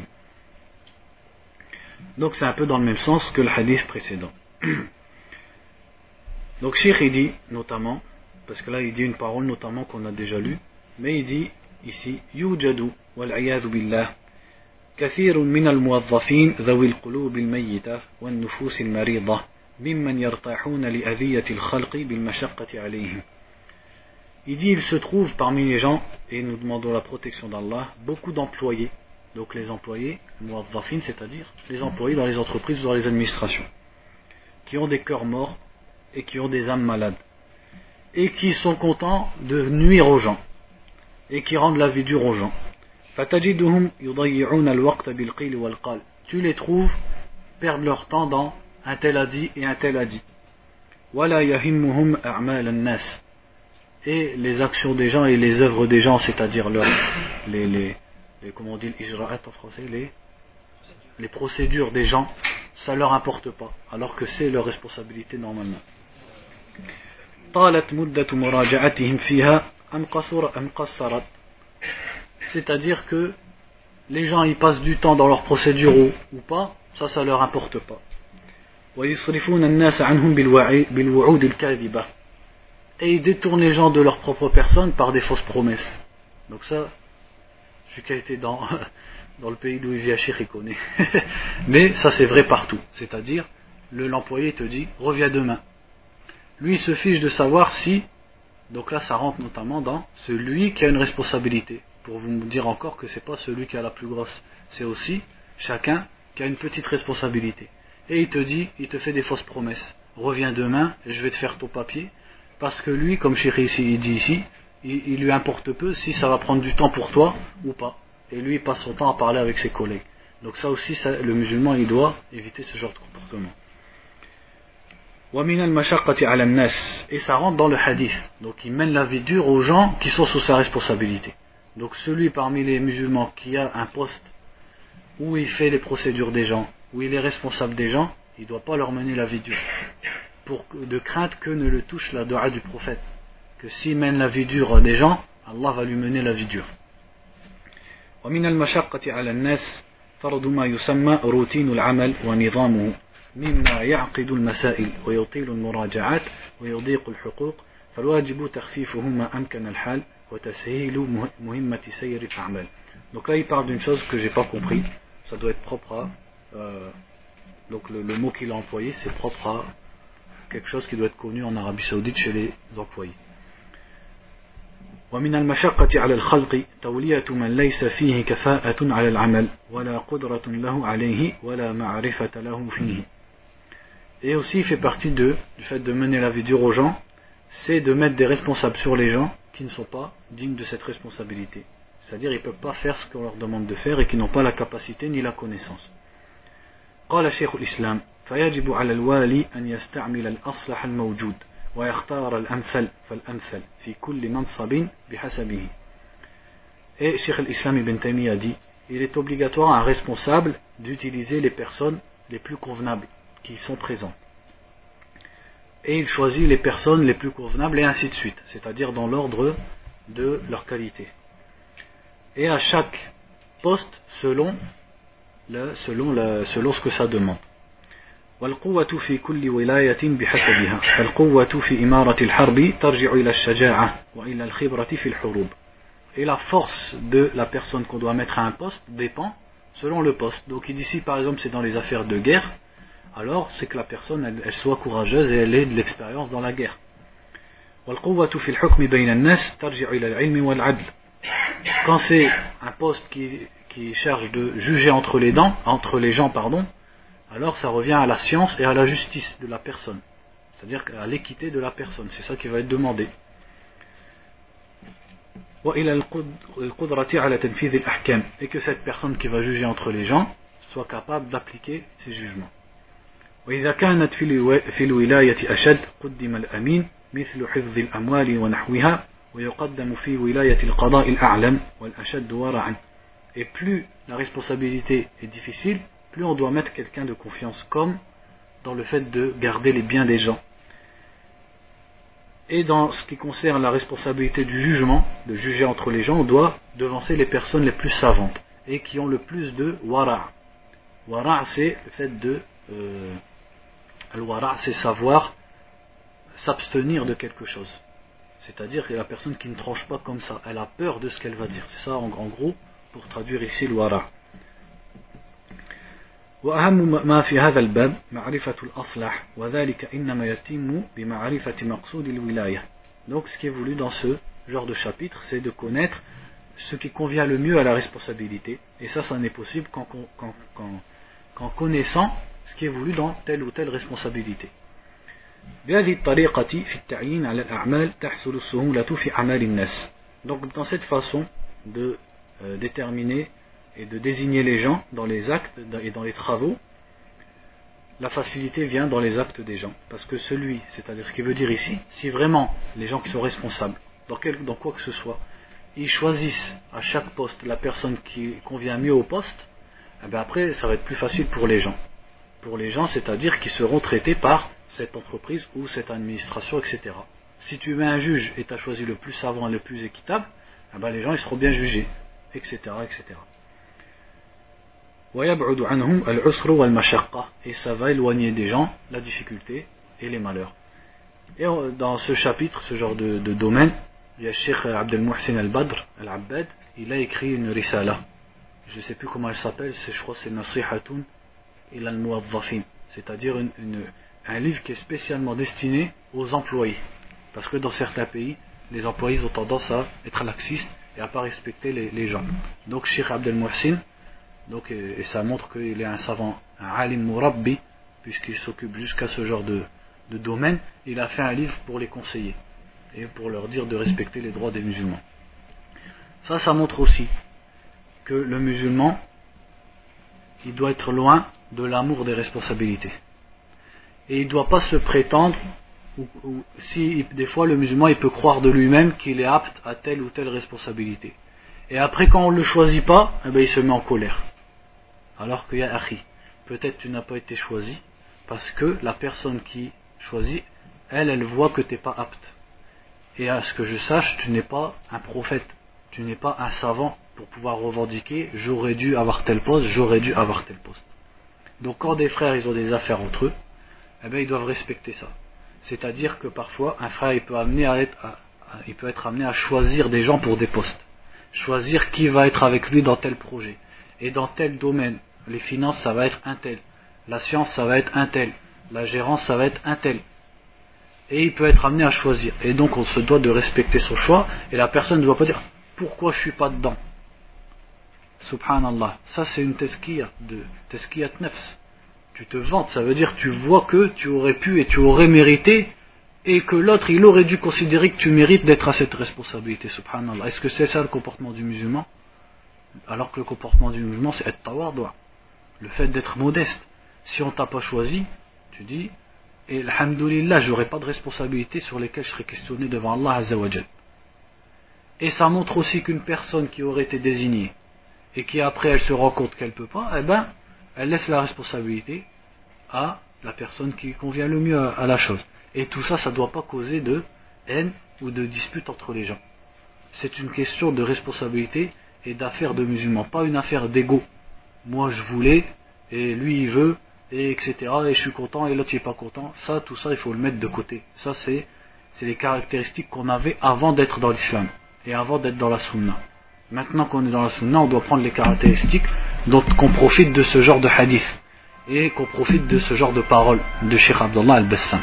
Donc c'est un peu dans le même sens que le hadith précédent. Donc Cheikh il dit notamment, parce que là il dit une parole notamment qu'on a déjà lue, mais il dit ici يوجد والعياذ بالله كثير من الموظفين ذوي القلوب الميتة والنفوس المريضة ممن يرتاحون لأذية الخلق بالمشقة عليهم. Il dit il se trouve parmi les gens, et nous demandons la protection d'Allah, beaucoup d'employés, donc les employés, muwazzafin, c'est-à-dire les employés dans les entreprises ou dans les administrations, qui ont des cœurs morts et qui ont des âmes malades, et qui sont contents de nuire aux gens, et qui rendent la vie dure aux gens. فَتَجِدُهُمْ يُضَيِّعُونَ الْوَقْتَ بِالْقِيلِ وَالْقَالِ. Tu les trouves perdre leur temps dans un tel a dit et un tel a dit. وَلَا يَهِمُّهُمْ أَعْمَالَ النَّاسِ. Et les actions des gens et les œuvres des gens, c'est-à-dire leur, les, les, les, comment on dit l'ijra'at en français, les, les procédures des gens, ça ne leur importe pas, alors que c'est leur responsabilité normalement. طالت مدة مراجعتهم فيها أم قصر أم قصرت. C'est-à-dire que les gens ils passent du temps dans leur procédure ou, ou pas, ça ça leur importe pas. ويصرفون الناس عنهم بالوعود الكاذبة. Et ils détournent les gens de leur propre personne par des fausses promesses. Donc ça, celui qui a été dans, dans le pays d'où il vit à Cheikh, il connaît. Mais ça c'est vrai partout. C'est-à-dire, le, l'employé te dit, reviens demain. Lui il se fiche de savoir si, donc là ça rentre notamment dans celui qui a une responsabilité. Pour vous dire encore que c'est pas celui qui a la plus grosse. C'est aussi chacun qui a une petite responsabilité. Et il te dit, il te fait des fausses promesses. Reviens demain et je vais te faire ton papier. Parce que lui, comme Cheikh ici, il dit ici, il, il lui importe peu si ça va prendre du temps pour toi ou pas. Et lui, il passe son temps à parler avec ses collègues. Donc ça aussi, ça, le musulman, il doit éviter ce genre de comportement. وَمِنَ الْمَشَقَّةِ عَلَى النَّاسِ. Et ça rentre dans le hadith. Donc il mène la vie dure aux gens qui sont sous sa responsabilité. Donc celui parmi les musulmans qui a un poste où il fait les procédures des gens, où il est responsable des gens, il ne doit pas leur mener la vie dure. Pour, de crainte que ne le touche la dua du prophète, que s'il mène la vie dure des gens, Allah va lui mener la vie dure. ومن المشقة على الناس فرض ما يسمى روتين العمل ونظامه مما يعقد المسائل ويطيل المراجعات ويضيق الحقوق فالواجب تخفيفه ما أمكن الحال وتسهيل مهمة سير الأعمال. Donc là il parle d'une chose que j'ai pas compris, ça doit être propre à euh, donc le, le mot qu'il a employé c'est propre à quelque chose qui doit être connu en Arabie Saoudite chez les employés. ومن المشقة على الخلق تولية من ليس فيه كفاءة على العمل ولا قدرة له عليه ولا معرفة له فيه. Et aussi il fait partie de, du fait de mener la vie dure aux gens, c'est de mettre des responsables sur les gens qui ne sont pas dignes de cette responsabilité. C'est-à-dire ils ne peuvent pas faire ce qu'on leur demande de faire et qui n'ont pas la capacité ni la connaissance. قال شيخ الإسلام فيجب على الوالي أن يستعمل الأصلح الموجود ويختار الأمثل فالأمثل في كل منصب بحسبه. Et Cheikh al-Islam ibn Taymiyyah dit il est obligatoire à un responsable d'utiliser les personnes les plus convenables qui sont présentes. Et il choisit les personnes les plus convenables et ainsi de suite, c'est-à-dire dans l'ordre de leur qualité. Et à chaque poste selon, le, selon, le, selon ce que ça demande. والقوة في كل ولاية بحسبها فالقوة في إمارة الحرب ترجع إلى الشجاعة وإلى الخبرة في الحروب. Et la force de la personne qu'on doit mettre à un poste dépend selon le poste. Donc il dit si par exemple c'est dans les affaires de guerre, alors c'est que la personne elle, elle soit courageuse et elle ait de l'expérience dans la guerre. والقوة في الحكم بين الناس ترجع إلى العلم والعدل. Quand c'est un poste qui, qui charge de juger entre les dents, entre les gens pardon, alors ça revient à la science et à la justice de la personne, c'est-à-dire à l'équité de la personne, c'est ça qui va être demandé. Et que cette personne qui va juger entre les gens soit capable d'appliquer ses jugements. وإذا كانت في الولاية أشد قدم الأمين مثل حفظ الأموال ونحوها ويقدم في ولاية القضاء الأعلم والأشد ورعا. Et plus la responsabilité est difficile, plus on doit mettre quelqu'un de confiance comme dans le fait de garder les biens des gens. Et dans ce qui concerne la responsabilité du jugement, de juger entre les gens, on doit devancer les personnes les plus savantes et qui ont le plus de wara'. Wara' c'est le fait de euh, al-wara' c'est savoir s'abstenir de quelque chose. C'est-à-dire que la personne qui ne tranche pas comme ça, elle a peur de ce qu'elle va dire. C'est ça en, en gros pour traduire ici le wara'. وأهم ما في هذا الباب معرفة الأصلح وذلك إنما يتم بمعرفة مقصود الولاية. Donc ce qui est voulu dans ce genre de chapitre, c'est de connaître ce qui convient le mieux à la responsabilité. Et ça, ça n'est possible qu'en, qu'en, qu'en, qu'en connaissant ce qui est voulu dans telle ou telle responsabilité. بهذه الطريقة في التعيين على الأعمال تحصل السهولة في أعمال الناس. Donc dans cette façon de euh, déterminer et de désigner les gens dans les actes et dans les travaux, la facilité vient dans les actes des gens. Parce que celui, c'est-à-dire ce qu'il veut dire ici, si vraiment les gens qui sont responsables, dans, quel, dans quoi que ce soit, ils choisissent à chaque poste la personne qui convient mieux au poste, eh bien après ça va être plus facile pour les gens. Pour les gens, c'est-à-dire qu'ils seront traités par cette entreprise ou cette administration, et cetera. Si tu mets un juge et tu as choisi le plus savant et le plus équitable, eh bien les gens ils seront bien jugés, et cetera, et cetera. ويبعد عنهم العسر والمشقة, et ça va éloigner des gens la difficulté et les malheurs. Et dans ce chapitre, ce genre de, de domaine, il y a Cheikh Abdel Muhsin al-Badr al-Abbad, il a écrit une risala, je ne sais plus comment elle s'appelle, je crois que c'est Nasihatun ila al-Muwazzafin, c'est-à-dire une, une, un livre qui est spécialement destiné aux employés, parce que dans certains pays les employés ont tendance à être laxistes et à ne pas respecter les, les gens. Donc Cheikh Abdel Muhsin, donc, et, et ça montre qu'il est un savant, un alim murabbi, puisqu'il s'occupe jusqu'à ce genre de, de domaine. Il a fait un livre pour les conseiller et pour leur dire de respecter les droits des musulmans. Ça, ça montre aussi que le musulman, il doit être loin de l'amour des responsabilités. Et il ne doit pas se prétendre, ou, ou si des fois le musulman il peut croire de lui-même qu'il est apte à telle ou telle responsabilité. Et après quand on ne le choisit pas, eh bien, il se met en colère. Alors qu'il y a akhi, peut-être tu n'as pas été choisi parce que la personne qui choisit, elle, elle voit que tu n'es pas apte. Et à ce que je sache, tu n'es pas un prophète, tu n'es pas un savant pour pouvoir revendiquer j'aurais dû avoir tel poste, j'aurais dû avoir tel poste. Donc quand des frères ils ont des affaires entre eux, eh bien, ils doivent respecter ça. C'est-à-dire que parfois un frère il peut amener à, être, à, il peut être amené à choisir des gens pour des postes, choisir qui va être avec lui dans tel projet, et dans tel domaine. Les finances, ça va être un tel, la science, ça va être un tel, la gérance, ça va être un tel. Et il peut être amené à choisir. Et donc on se doit de respecter son choix, et la personne ne doit pas dire pourquoi je suis pas dedans. Subhanallah, ça c'est une tazkiyah de tazkiyat nafs. Tu te vantes, ça veut dire tu vois que tu aurais pu et tu aurais mérité, et que l'autre il aurait dû considérer que tu mérites d'être à cette responsabilité. Subhanallah. Est-ce que c'est ça le comportement du musulman? Alors que le comportement du musulman c'est être tawaddu', le fait d'être modeste. Si on t'a pas choisi, tu dis et alhamdoulilah, j'aurai pas de responsabilité sur lesquelles je serai questionné devant Allah Azza wa Jal. Et ça montre aussi qu'une personne qui aurait été désignée et qui après elle se rend compte qu'elle peut pas, eh ben elle laisse la responsabilité à la personne qui convient le mieux à, à la chose. Et tout ça, ça ne doit pas causer de haine ou de dispute entre les gens. C'est une question de responsabilité et d'affaires de musulmans, pas une affaire d'ego. Moi je voulais, et lui il veut, et etc. Et je suis content, et l'autre il n'est pas content. Ça, tout ça, il faut le mettre de côté. Ça, c'est, c'est les caractéristiques qu'on avait avant d'être dans l'islam, et avant d'être dans la sunna. Maintenant qu'on est dans la sunna, on doit prendre les caractéristiques, donc qu'on profite de ce genre de hadith, et qu'on profite de ce genre de paroles de Cheikh Abdullah al-Bassam.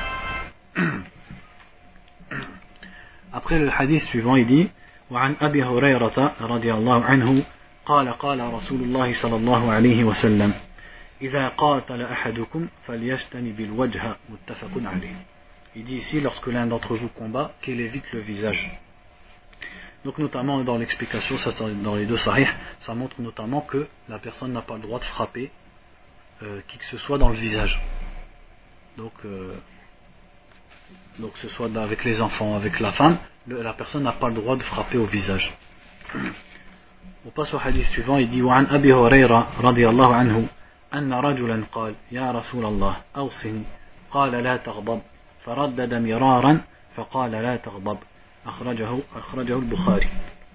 Après le hadith suivant, il dit وعن أبي هريرة رضي الله عنه قال قال رسول الله صلى الله عليه وسلم إذا قاتل أحدكم فليجتنب الوجه متفق عليه. Il dit ici, lorsque l'un d'entre vous combat, qu'il évite le visage. Donc notamment dans l'explication, ça dans les deux sahih, ça montre notamment que la personne n'a pas le droit de frapper euh, qui que ce soit dans le visage. Donc euh, donc que ce soit avec les enfants, avec la femme, le, la personne n'a pas le droit de frapper au visage. On passe au hadith suivant, il dit وعن أبي هريرة رضي الله عنه أن رجلا قال يا رسول الله أوصني قال لا تغضب فردد مرارا فقال لا تغضب أخرجه أخرجه البخاري.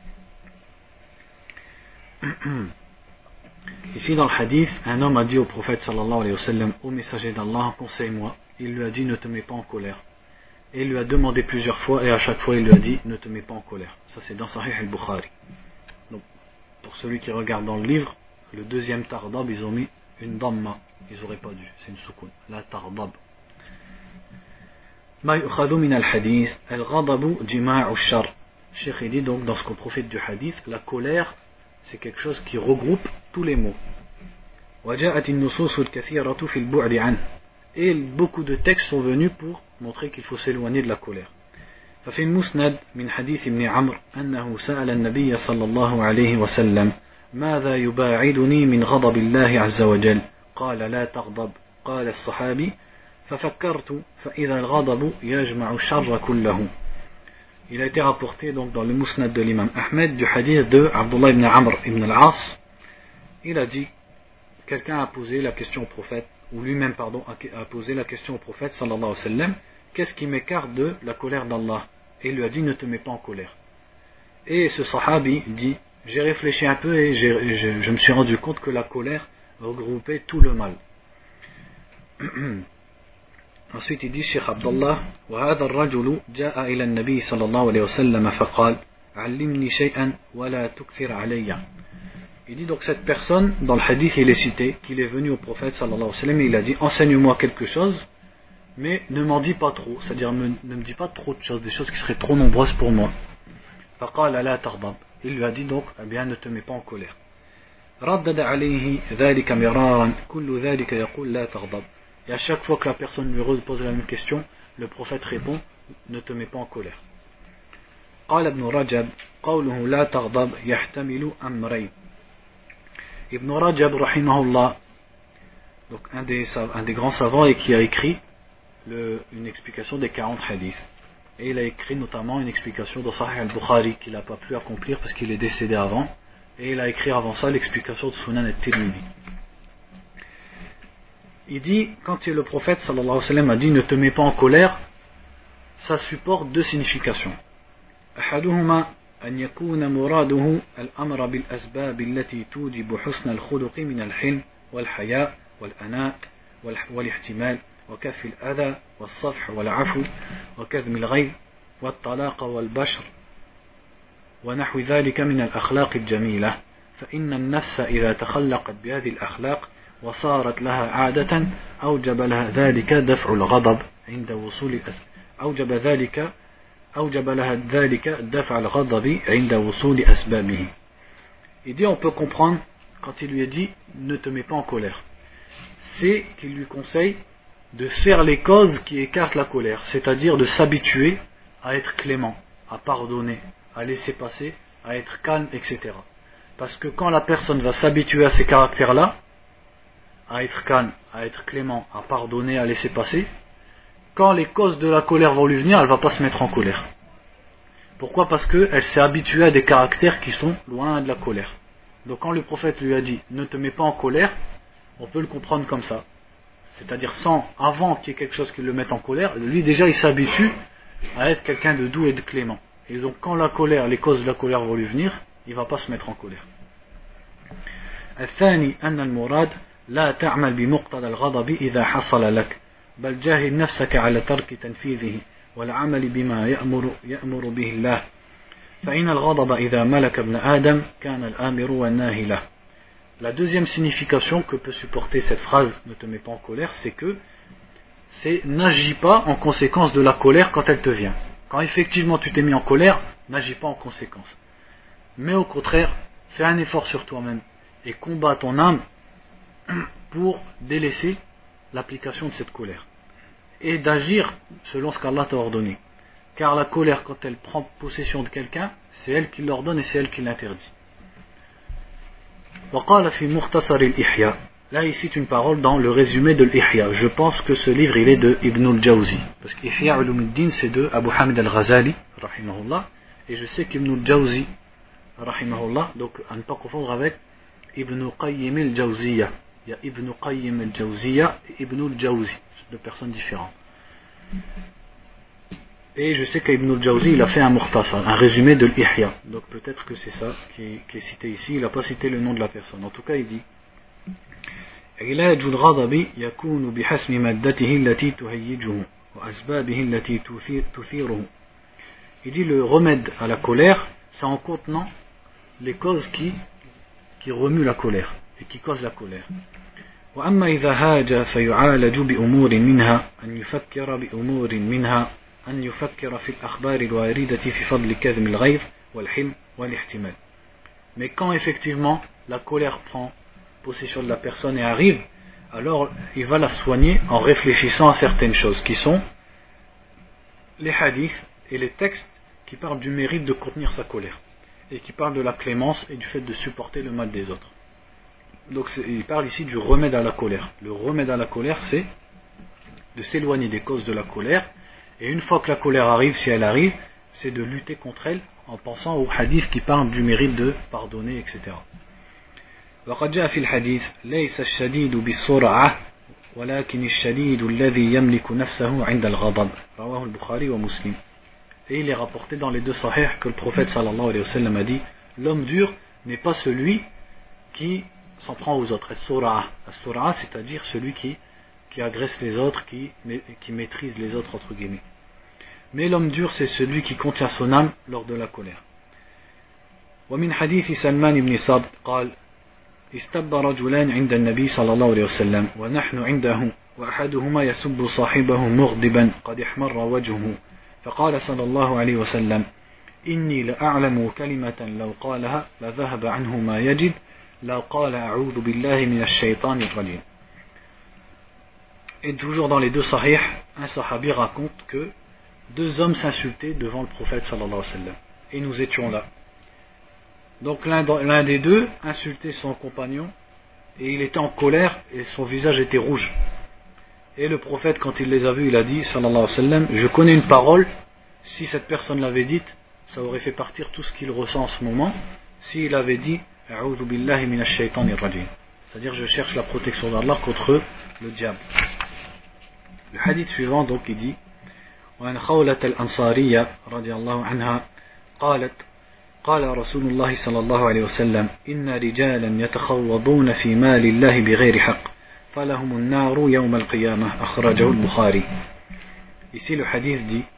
Ici dans le hadith, un homme a dit au prophète sallallahu alayhi wa sallam, au messager d'Allah, conseille-moi. Il lui a dit, ne te mets pas en colère. Et il lui a demandé plusieurs fois, et à chaque fois il lui a dit, ne te mets pas en colère. Ça c'est dans Sahih al-Bukhari. Donc, pour celui qui regarde dans le livre, le deuxième tardab, ils ont mis une damma. Ils n'auraient pas dû, c'est une soukoun. La tardab. Ma yu'khadhu min al-hadith, al-ghadabu jima'u ash-shar. Cheikh dit donc, dans ce qu'on profite du hadith, la colère, c'est quelque chose qui regroupe tous les mots. وجاءت النصوص الكثيرة في البعد عنه. Et beaucoup de textes sont venus pour montrer qu'il faut s'éloigner de la colère. ففي المسند من حديث ابن عمرو أنه سأل النبي صلى الله عليه وسلم ماذا يباعدني من غضب الله عز وجل قال لا تغضب قال الصحابي ففكرت فإذا الغضب يجمع الشر كله. Il a été rapporté donc dans le Musnad de l'imam Ahmed du hadith de Abdullah ibn Amr ibn al-As. Il a dit, quelqu'un a posé la question au prophète, ou lui-même pardon, a posé la question au prophète sallallahu alayhi wa sallam, qu'est-ce qui m'écarte de la colère d'Allah? Et il lui a dit, ne te mets pas en colère. Et ce sahabi dit, j'ai réfléchi un peu et j'ai, je, je me suis rendu compte que la colère regroupait tout le mal. Ensuite il dit, Cheikh Abdullah, وهذا الرجل جاء إلى النبي صلى الله عليه وسلم فقال علمني شيئا ولا تكثر علي. Il dit donc cette personne, dans le hadith il est cité, qu'il est venu au prophète sallallahu alayhi wa sallam et il a dit, enseigne-moi quelque chose, mais ne m'en dis pas trop, c'est-à-dire ne me dis pas trop de choses, des choses qui seraient trop nombreuses pour moi. فقال لا تغضب. Il lui a dit donc, eh bien ne te mets pas en colère. ردد عليه ذلك مرارا كل ذلك يقول لا تغضب. Et à chaque fois que la personne lui repose la même question, le prophète répond, ne te mets pas en colère. قال ابن رجب قوله لا تغضب يحتمل أمرين. Ibn Rajab rahimahullah, donc un des, un des grands savants et qui a écrit le, une explication des quarante hadiths. Et il a écrit notamment une explication dans Sahih al-Bukhari qu'il n'a pas pu accomplir parce qu'il est décédé avant. Et il a écrit avant ça l'explication de Sunan al-Tirmidhi. Il dit, quand le prophète sallallahu alayhi wa sallam a dit ne te mets pas en colère, ça supporte deux significations. أحدهما أن يكون مراده الأمر بالأسباب التي توجب حسن الخلق من الحلم والحياء والأناء والاحتمال وكف الأذى والصفح والعفو وكظم الغيظ والطلاق والبشر ونحو ذلك من الأخلاق الجميلة فإن النفس إذا تخلقت بهذه الأخلاق وصارت لها عادة أوجب لها ذلك دفع الغضب عند وصول أوجب ذلك أوجب لها ذلك دفع الغضب عند وصول أسبابه. Il dit on peut comprendre quand il lui a dit ne te mets pas en colère, c'est qu'il lui conseille de faire les causes qui écartent la colère, c'est-à-dire de s'habituer à être clément, à pardonner, à laisser passer, à être calme, et cetera. Parce que quand la personne va s'habituer à ces caractères-là, à être calme, à être clément, à pardonner, à laisser passer, quand les causes de la colère vont lui venir, elle ne va pas se mettre en colère. Pourquoi ? Parce qu'elle s'est habituée à des caractères qui sont loin de la colère. Donc quand le prophète lui a dit « ne te mets pas en colère », on peut le comprendre comme ça. C'est-à-dire sans, avant qu'il y ait quelque chose qui le mette en colère, lui déjà il s'habitue à être quelqu'un de doux et de clément. Et donc quand la colère, les causes de la colère vont lui venir, il ne va pas se mettre en colère. الثاني أن المراد لا تعمل بمقتضى الغضب إذا حصل لك بل جاهد نفسك على ترك تنفيذه والعمل بما يأمر, يأمر به الله فإن الغضب إذا ملك ابن آدم كان الآمر والناهي له. La deuxième signification que peut supporter cette phrase ne te mets pas en colère, c'est que c'est n'agis pas en conséquence de la colère quand elle te vient. Quand effectivement tu t'es mis en colère, n'agis pas en conséquence. Mais au contraire, fais un effort sur toi-même et combats ton âme pour délaisser l'application de cette colère et d'agir selon ce qu'Allah t'a ordonné. Car la colère, quand elle prend possession de quelqu'un, c'est elle qui l'ordonne et c'est elle qui l'interdit. وقال في مختصر الإحياء. Là ici une parole dans le résumé de l'Ihya. Je pense que ce livre il est de Ibn al-Jawzi. Parce qu'Ihya Ulumuddin c'est de Abu Hamid al-Ghazali, rahimahullah. Et je sais qu'Ibn al-Jawzi, rahimahullah, donc à ne pas confondre avec Ibn Qayyim al-Jawziyya. Il y a Ibn Qayyim al-Jawziyya et Ibn al-Jawzi. C'est deux personnes différentes. Et je sais qu'Ibn al-Jawzi il a fait un mukhtasar, un résumé de l'Ihya. Donc peut-être que c'est ça qui, qui est cité ici. Il n'a pas cité le nom de la personne. En tout cas il dit علاج الغضب يكون بحسب مادته التي تهيجه وأسبابه التي تثيره. Il dit le remède à la colère, c'est en contenant les causes qui, qui remuent la colère et qui causent la colère. وأما إذا هاج فيعالج بأمور منها أن يفكر بأمور منها أن يفكر في الأخبار الواردة في فضل كظم الغيظ والحلم والاحتمال. Mais quand effectivement la colère prend possession de la personne et arrive, alors il va la soigner en réfléchissant à certaines choses qui sont les hadiths et les textes qui parlent du mérite de contenir sa colère et qui parlent de la clémence et du fait de supporter le mal des autres. Donc il parle ici du remède à la colère. Le remède à la colère, c'est de s'éloigner des causes de la colère, et une fois que la colère arrive, si elle arrive, c'est de lutter contre elle en pensant aux hadiths qui parlent du mérite de pardonner, et cetera. وقد جاء في الحديث ليس الشديد بالسرعة ولكن الشديد الذي يملك نفسه عند الغضب رواه البخاري ومسلم. Et il est rapporté dans les deux sahih que le prophète sallallahu alayhi wa sallam a dit l'homme dur n'est pas celui qui s'en prend aux autres. As-sura'a, as-sura'a, c'est-à-dire celui qui, qui agresse les autres, qui, qui maîtrise les autres entre guillemets. Mais l'homme dur c'est celui qui contient son âme lors de la colère. ومن حديث سلمان بن صاد قال استب رجلان عند النبي صلى الله عليه وسلم ونحن عنده وأحدهما يسب صاحبه مغضبا قد احمر وجهه فقال صلى الله عليه وسلم إني لأعلم كلمة لو قالها لذهب عنه ما يجد لو قال أعوذ بالله من الشيطان الرجيم. Et toujours dans les deux sahih, un sahabi raconte que deux hommes s'insultaient devant le prophète sallallahu alayhi wa sallam et nous étions là. Donc l'un, l'un des deux insultait son compagnon et il était en colère et son visage était rouge. Et le prophète, quand il les a vus, il a dit sallallahu alayhi wa sallam, je connais une parole, si cette personne l'avait dite, ça aurait fait partir tout ce qu'il ressent en ce moment. S'il avait dit a'udhu billahi minash shaitanir rajim, c'est-à-dire je cherche la protection d'Allah contre le diable. Le hadith suivant donc il dit وعن خولة الأنصارية رضي الله عنها قالت قال رسول الله صلى الله عليه وسلم إن رجالا يتخوضون في مال الله بغير حق فلهم النار يوم القيامة أخرجه البخاري. Ici le hadith dit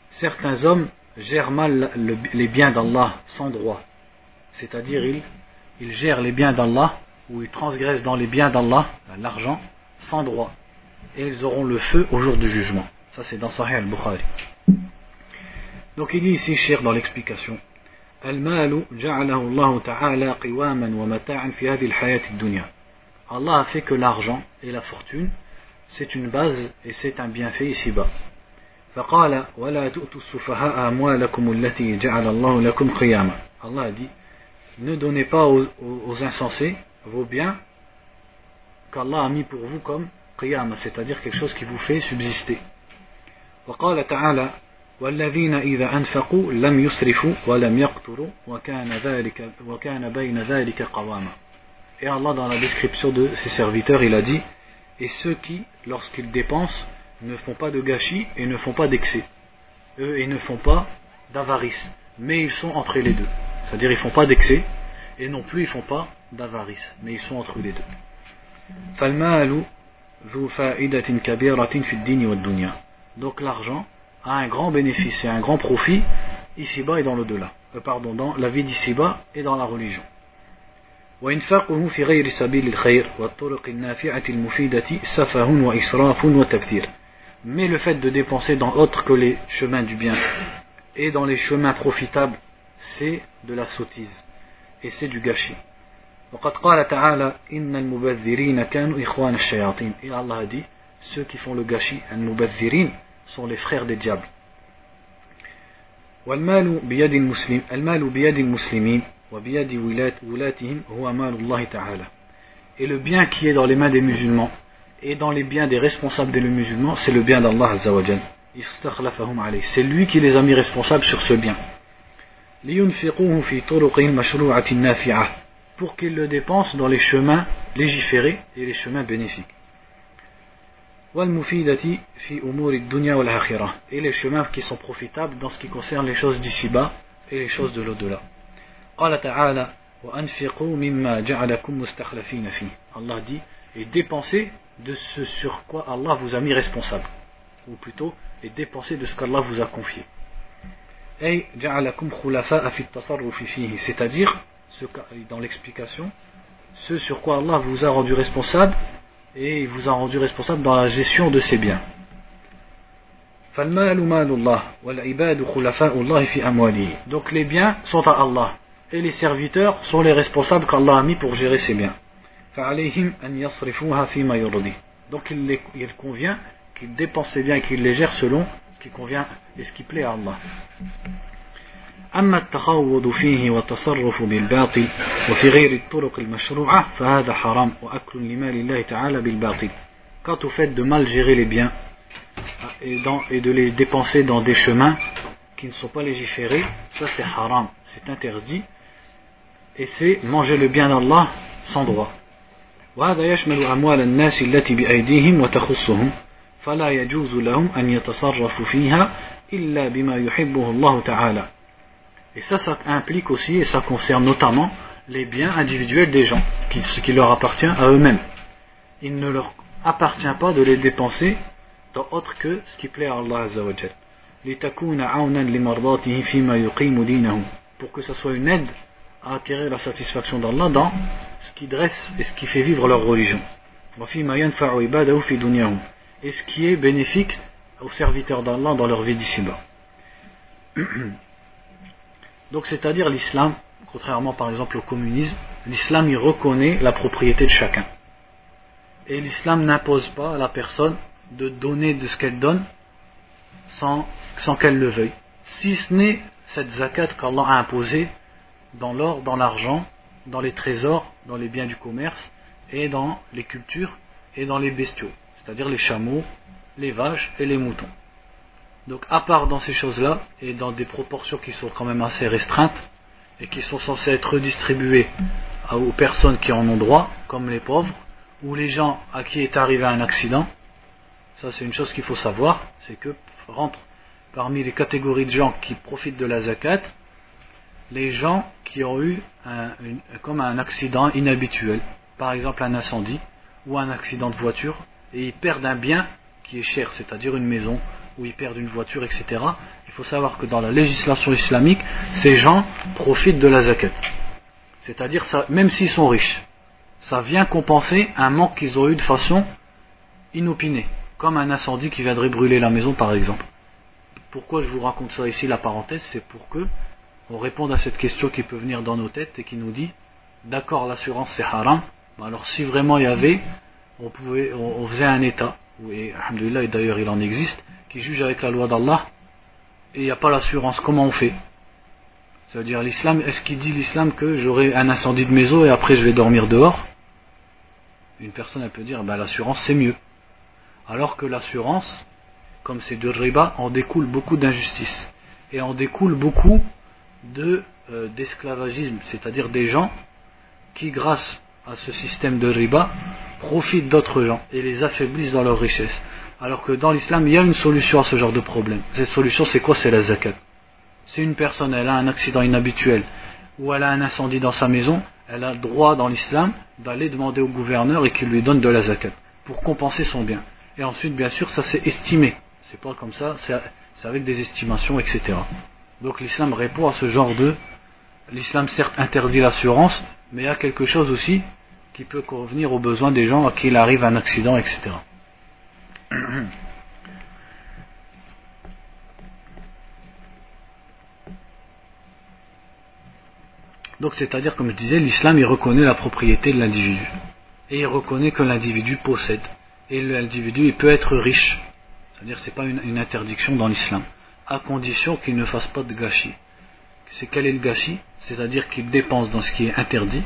certains hommes gèrent mal le, les biens d'Allah sans droit. C'est-à-dire, ils, ils gèrent les biens d'Allah, ou ils transgressent dans les biens d'Allah, l'argent, sans droit. Et ils auront le feu au jour du jugement. Ça, c'est dans Sahih al-Bukhari. Donc, il dit ici, Cheikh, dans l'explication, Al-malu ja'alahu Allah ta'ala qiwaman wa mata'an fi hadhihi al-hayati ad-dunya. Allah a fait que l'argent et la fortune, c'est une base et c'est un bienfait ici-bas. فقال ولا تؤتوا السفهاء أموالكم التي جعل الله لكم قياما. Allah a dit, ne donnez pas aux, aux, aux insensés vos biens qu'Allah a mis pour vous comme qiyama, c'est-à-dire quelque chose qui vous fait subsister. وقال تعالى والذين إذا أنفقوا لم يسرفوا ولم يقتروا وكان ذلك وكان بين ذلك قواما. Et Allah, dans la description de ses serviteurs, il a dit, et ceux qui, lorsqu'ils dépensent, ne font pas de gâchis et ne font pas d'excès. Eux, ils ne font pas d'avarice, mais ils sont entre les deux. C'est-à-dire, ils ne font pas d'excès, et non plus ils ne font pas d'avarice, mais ils sont entre les deux. فالمال ذو فائدة كبيرة في الدين والدنيا. Donc l'argent a un grand bénéfice et un grand profit ici-bas et dans l'au-delà. Euh, pardon, dans la vie d'ici-bas et dans la religion. وإنفاقه في غير سبيل الخير والطرق النافعة المفيدة سفه وإسراف وتبذير. Mais le fait de dépenser dans autre que les chemins du bien et dans les chemins profitables, c'est de la sottise et c'est du gâchis. وقد قال تعالى إن المبذرين كانوا إخوان الشياطين. Et Allah a dit, ceux qui font le gâchis, المبذرين, sont les frères des diables. والمال بيد المسلم المال بيد المسلمين وبيد ولاتهم هو مال الله تعالى. Et le bien qui est dans les mains des musulmans et dans les biens des responsables des musulmans, c'est le bien d'Allah Azza wa Jal. Istakhlafahum alayh. C'est lui qui les a mis responsables sur ce bien. لينفقوه في طرق مشروعة نافعة. Pour qu'ils le dépensent dans les chemins légiférés et les chemins bénéfiques. والمفيدة في أمور الدنيا والآخرة. Et les chemins qui sont profitables dans ce qui concerne les choses d'ici-bas et les choses de l'au-delà. قال تعالى وأنفقوا مما جعلكم مستخلفين فيه. Allah dit, et dépensez de ce sur quoi Allah vous a mis responsable, ou plutôt, et dépensez de ce qu'Allah vous a confié. أي جعلكم خلفاء في التصرف فيه, c'est-à-dire, ce, dans l'explication, ce sur quoi Allah vous a rendu responsable, et il vous a rendu responsable dans la gestion de ses biens. فالمال مال الله والعباد خلفاء الله في أمواله. Donc les biens sont à Allah, et les serviteurs sont les responsables qu'Allah a mis pour gérer ses biens. فعليهم أن يصرفوها فيما يرضي. Donc il, les, il convient qu'ils dépensent ses biens et qu'ils les gèrent selon ce qui convient et ce qui plaît à Allah. أما التخوض فيه والتصرف بالباطل وفي غير الطرق المشروعة فهذا حرام وأكل لمال الله تعالى بالباطل. Quant au fait de mal gérer les biens et, dans, et de les dépenser dans des chemins qui ne sont pas légiférés, ça c'est haram, c'est interdit, et c'est manger le bien d'Allah sans droit. وهذا يشمل أموال الناس التي بأيديهم وتخصهم فلا يجوز لهم أن يتصرفوا فيها إلا بما يحبه الله تعالى. Et ça, ça implique aussi, et ça concerne notamment les biens individuels des gens, qui, ce qui leur appartient à eux-mêmes. Il ne leur appartient pas de les dépenser dans autre que ce qui plaît à Allah Azza wa Jal. لِتَكُونَ عَوْنًا لِمَرْضَاتِهِ فِيمَا يُقِيمُ دِينَهُ. Pour que ça soit une aide à acquérir la satisfaction d'Allah dans ce qui dresse et ce qui fait vivre leur religion. وَفِيمَا يَنْفَعُ عِبَادَهُ فِي دُنْيَاهُمْ. Et ce qui est bénéfique aux serviteurs d'Allah dans leur vie d'ici-bas. Donc c'est-à-dire l'islam, contrairement par exemple au communisme, l'islam il reconnaît la propriété de chacun. Et l'islam n'impose pas à la personne de donner de ce qu'elle donne sans, sans qu'elle le veuille. Si ce n'est cette zakat qu'Allah a imposée dans l'or, dans l'argent, dans les trésors, dans les biens du commerce, et dans les cultures, et dans les bestiaux, c'est-à-dire les chameaux, les vaches et les moutons. Donc à part dans ces choses-là, et dans des proportions qui sont quand même assez restreintes, et qui sont censées être redistribuées aux personnes qui en ont droit, comme les pauvres, ou les gens à qui est arrivé un accident, ça c'est une chose qu'il faut savoir, c'est que rentrent parmi les catégories de gens qui profitent de la zakat, les gens qui ont eu un, une, comme un accident inhabituel, par exemple un incendie, ou un accident de voiture, et ils perdent un bien qui est cher, c'est-à-dire une maison, ou ils perdent une voiture, et cetera. Il faut savoir que dans la législation islamique, ces gens profitent de la zakat. C'est-à-dire, ça, même s'ils sont riches, ça vient compenser un manque qu'ils ont eu de façon inopinée, comme un incendie qui viendrait brûler la maison par exemple. Pourquoi je vous raconte ça ici, la parenthèse, c'est pour que on réponde à cette question qui peut venir dans nos têtes et qui nous dit, d'accord, l'assurance c'est haram, mais alors si vraiment il y avait, on, pouvait, on, on faisait un état, et alhamdoulilah, et d'ailleurs il en existe, qui juge avec la loi d'Allah, et il n'y a pas l'assurance, comment on fait? Ça veut dire l'islam, est-ce qu'il dit l'islam que j'aurai un incendie de maison et après je vais dormir dehors? Une personne elle peut dire ben, l'assurance c'est mieux. Alors que l'assurance, comme c'est de riba, en découle beaucoup d'injustice. Et en découle beaucoup de, euh, d'esclavagisme, c'est-à-dire des gens qui grâce à ce système de riba profitent d'autres gens et les affaiblissent dans leur richesse. Alors que dans l'islam il y a une solution à ce genre de problème. Cette solution c'est quoi? C'est la zakat. Si une personne elle a un accident inhabituel ou elle a un incendie dans sa maison, elle a le droit dans l'islam d'aller demander au gouverneur et qu'il lui donne de la zakat pour compenser son bien. Et ensuite bien sûr ça c'est estimé, c'est pas comme ça, c'est, c'est avec des estimations, et cetera. Donc l'islam répond à ce genre de... L'islam certes interdit l'assurance, mais il y a quelque chose aussi qui peut convenir aux besoins des gens à qui il arrive un accident, et cetera. Donc c'est-à-dire, comme je disais, l'islam il reconnaît la propriété de l'individu. Et il reconnaît que l'individu possède. Et l'individu il peut être riche. C'est-à-dire c'est pas une, une interdiction dans l'islam. À condition qu'il ne fasse pas de gâchis. C'est quel est le gâchis? C'est-à-dire qu'il dépense dans ce qui est interdit.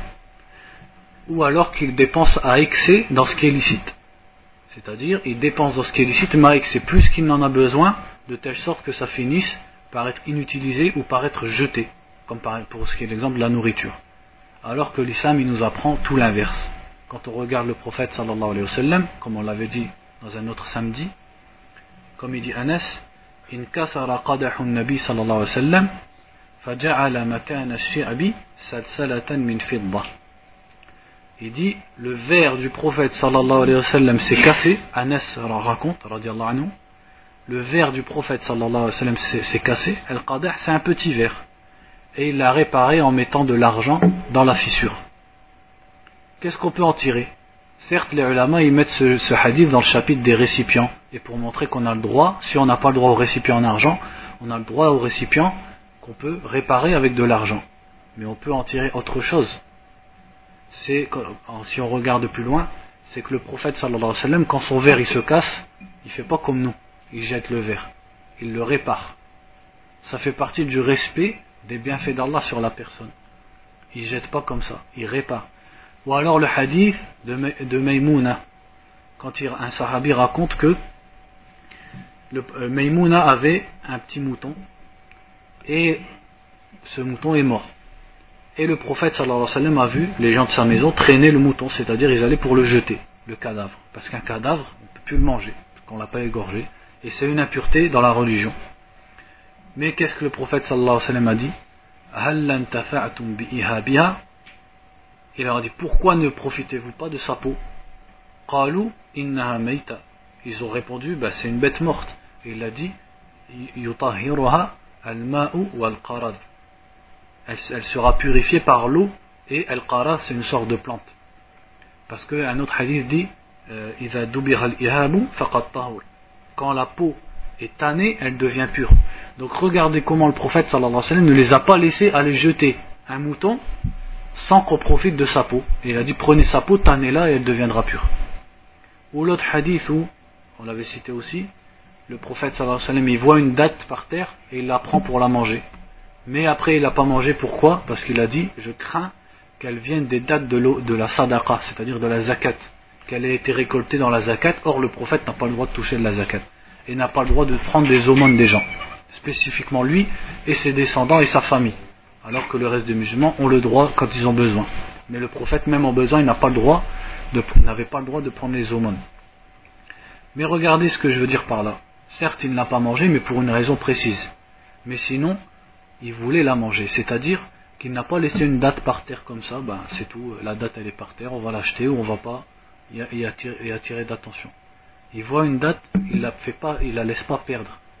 Ou alors qu'il dépense à excès dans ce qui est licite. C'est-à-dire il dépense dans ce qui est licite, mais à excès plus qu'il n'en a besoin, de telle sorte que ça finisse par être inutilisé ou par être jeté. Comme pour ce qui est l'exemple de la nourriture. Alors que l'islam il nous apprend tout l'inverse. Quand on regarde le prophète sallallahu alayhi wa sallam, comme on l'avait dit dans un autre samedi, comme il dit Anas, in kasara qadahu nabi sallallahu alayhi wa sallam, faja'ala makana ash-shi'bi salsalatan min fidda. Il dit le verre du prophète sallallahu alayhi wa sallam s'est cassé. Anas raconte radiyallahu anhu, le verre du prophète sallallahu alayhi wa sallam s'est, s'est cassé. Al-qadah c'est un petit verre. Et il l'a réparé en mettant de l'argent dans la fissure. Qu'est-ce qu'on peut en tirer? Certes, les ulama ils mettent ce, ce hadith dans le chapitre des récipients, et pour montrer qu'on a le droit, si on n'a pas le droit au récipient en argent, on a le droit au récipient qu'on peut réparer avec de l'argent. Mais on peut en tirer autre chose. C'est, si on regarde plus loin, c'est que le prophète sallallahu alayhi wa sallam, quand son verre il se casse, il fait pas comme nous, il jette le verre, il le répare. Ça fait partie du respect des bienfaits d'Allah sur la personne. Il ne jette pas comme ça, il répare. Ou alors le hadith de, de Maymouna, quand il, un sahabi raconte que le, euh, Maymouna avait un petit mouton et ce mouton est mort. Et le prophète sallallahu alayhi wa sallam a vu les gens de sa maison traîner le mouton, c'est-à-dire ils allaient pour le jeter, le cadavre. Parce qu'un cadavre, on ne peut plus le manger, parce qu'on ne l'a pas égorgé. Et c'est une impureté dans la religion. Mais qu'est-ce que le prophète sallallahu alayhi wa sallam a dit? Hal lantafa'tum bi'ihabiha? Il leur a dit pourquoi ne profitez-vous pas de sa peau? Qalu innaha mayta. Ils ont répondu bah, c'est une bête morte. Et il a dit yutahhiruha al-ma'u wal-qarad. Elle, elle sera purifiée par l'eau et al-qarad c'est une sorte de plante. Parce qu'un autre hadith dit idha dubira al-ihabu faqad tahur. Quand la peau est tannée, elle devient pure. Donc regardez comment le prophète sallallahu alayhi wa sallam ne les a pas laissés aller jeter un mouton sans qu'on profite de sa peau. Et il a dit prenez sa peau, tannez-la et elle deviendra pure. Ou l'autre hadith où, on l'avait cité aussi, le prophète sallallahu alayhi wa sallam il voit une date par terre et il la prend pour la manger. Mais après il l'a pas mangée, pourquoi? Parce qu'il a dit je crains qu'elle vienne des dates de, l'eau, de la sadaqa, c'est-à-dire de la zakat, qu'elle ait été récoltée dans la zakat. Or le prophète n'a pas le droit de toucher de la zakat et n'a pas le droit de prendre des aumônes des gens, spécifiquement lui et ses descendants et sa famille, alors que le reste des musulmans ont le droit quand ils ont besoin. Mais le prophète, même en besoin, il n'a pas le droit de, n'avait pas le droit de prendre les aumônes. Mais regardez ce que je veux dire par là. Certes, il ne l'a pas mangé, mais pour une raison précise. Mais sinon, il voulait la manger. C'est-à-dire qu'il n'a pas laissé une date par terre comme ça. Ben, c'est tout. La date, elle est par terre. On va l'acheter ou on va pas y attirer, y attirer d'attention. Il voit une date, il la fait pas, il la laisse pas perdre.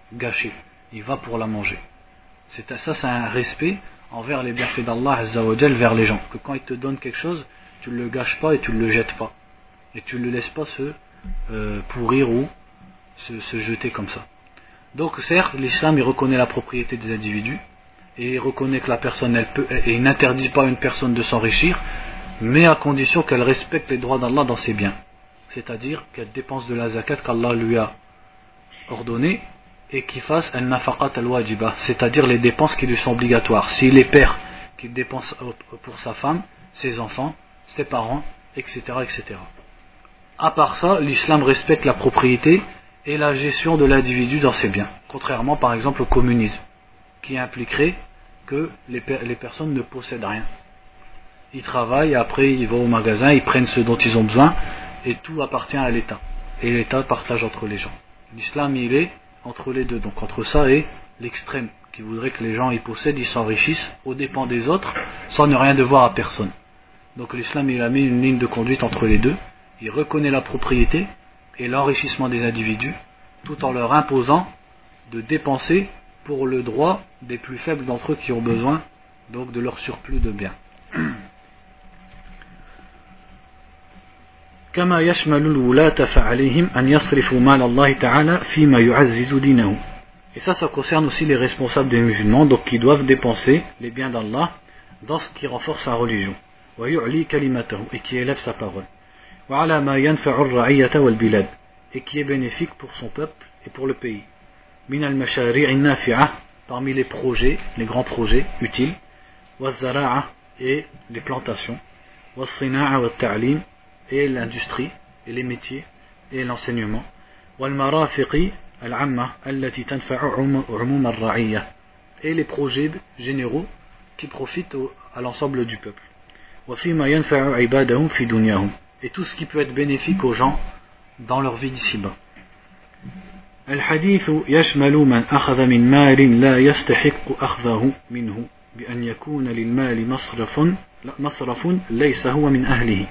gâcher, il va pour la manger. C'est, ça c'est un respect envers les bienfaits d'Allah Azza wa Jal vers les gens, que quand il te donne quelque chose, tu ne le gâches pas et tu ne le jettes pas, et tu ne le laisses pas se euh, pourrir ou se, se jeter comme ça. Donc certes, l'islam il reconnaît la propriété des individus, et il reconnaît que la personne elle peut, et il n'interdit pas à une personne de s'enrichir, mais à condition qu'elle respecte les droits d'Allah dans ses biens, c'est-à-dire qu'elle dépense de la zakat qu'Allah lui a ordonnée, et qu'il fasse al-nafaqat al-wajiba, c'est-à-dire les dépenses qui lui sont obligatoires. S'il est père, qu'il dépense pour sa femme, ses enfants, ses parents, et cetera, et cetera. À part ça, l'islam respecte la propriété et la gestion de l'individu dans ses biens, contrairement par exemple au communisme, qui impliquerait que les, per- les personnes ne possèdent rien. Ils travaillent, après ils vont au magasin, ils prennent ce dont ils ont besoin, et tout appartient à l'État. Et l'État partage entre les gens. L'islam, il est entre les deux, donc entre ça et l'extrême, qui voudrait que les gens y possèdent, ils s'enrichissent aux dépens des autres, sans ne rien devoir à personne. Donc l'islam, il a mis une ligne de conduite entre les deux. Il reconnaît la propriété et l'enrichissement des individus, tout en leur imposant de dépenser pour le droit des plus faibles d'entre eux qui ont besoin donc de leur surplus de biens. كما يشمل الولاة فعليهم أن يصرفوا مال الله تعالى فيما يعزز دينه. Et ça, ça concerne aussi les responsables des musulmans, donc qui doivent dépenser les biens d'Allah dans ce qui renforce sa religion, ويعلي كلمته, et qui élève sa parole, وعلى ما ينفع الرعية والبلاد, et qui est bénéfique pour son peuple et pour le pays. من المشاريع النافعة, parmi les projets, les grands projets utiles, والزراعة, et les plantations, والصناعة والتعليم, et l'industrie, et les métiers, et l'enseignement, والمرافق العامة التي تنفع عموم الرعية, et les projets généraux qui profitent à l'ensemble du peuple, وفيما ينفع عبادهم في دنياهم, et tout ce qui peut être bénéfique aux gens dans leur vie d'ici-bas. الحديث يشمل من أخذ من مال لا يستحق أخذه منه بأن يكون للمال مصرف مصرف ليس هو من أهله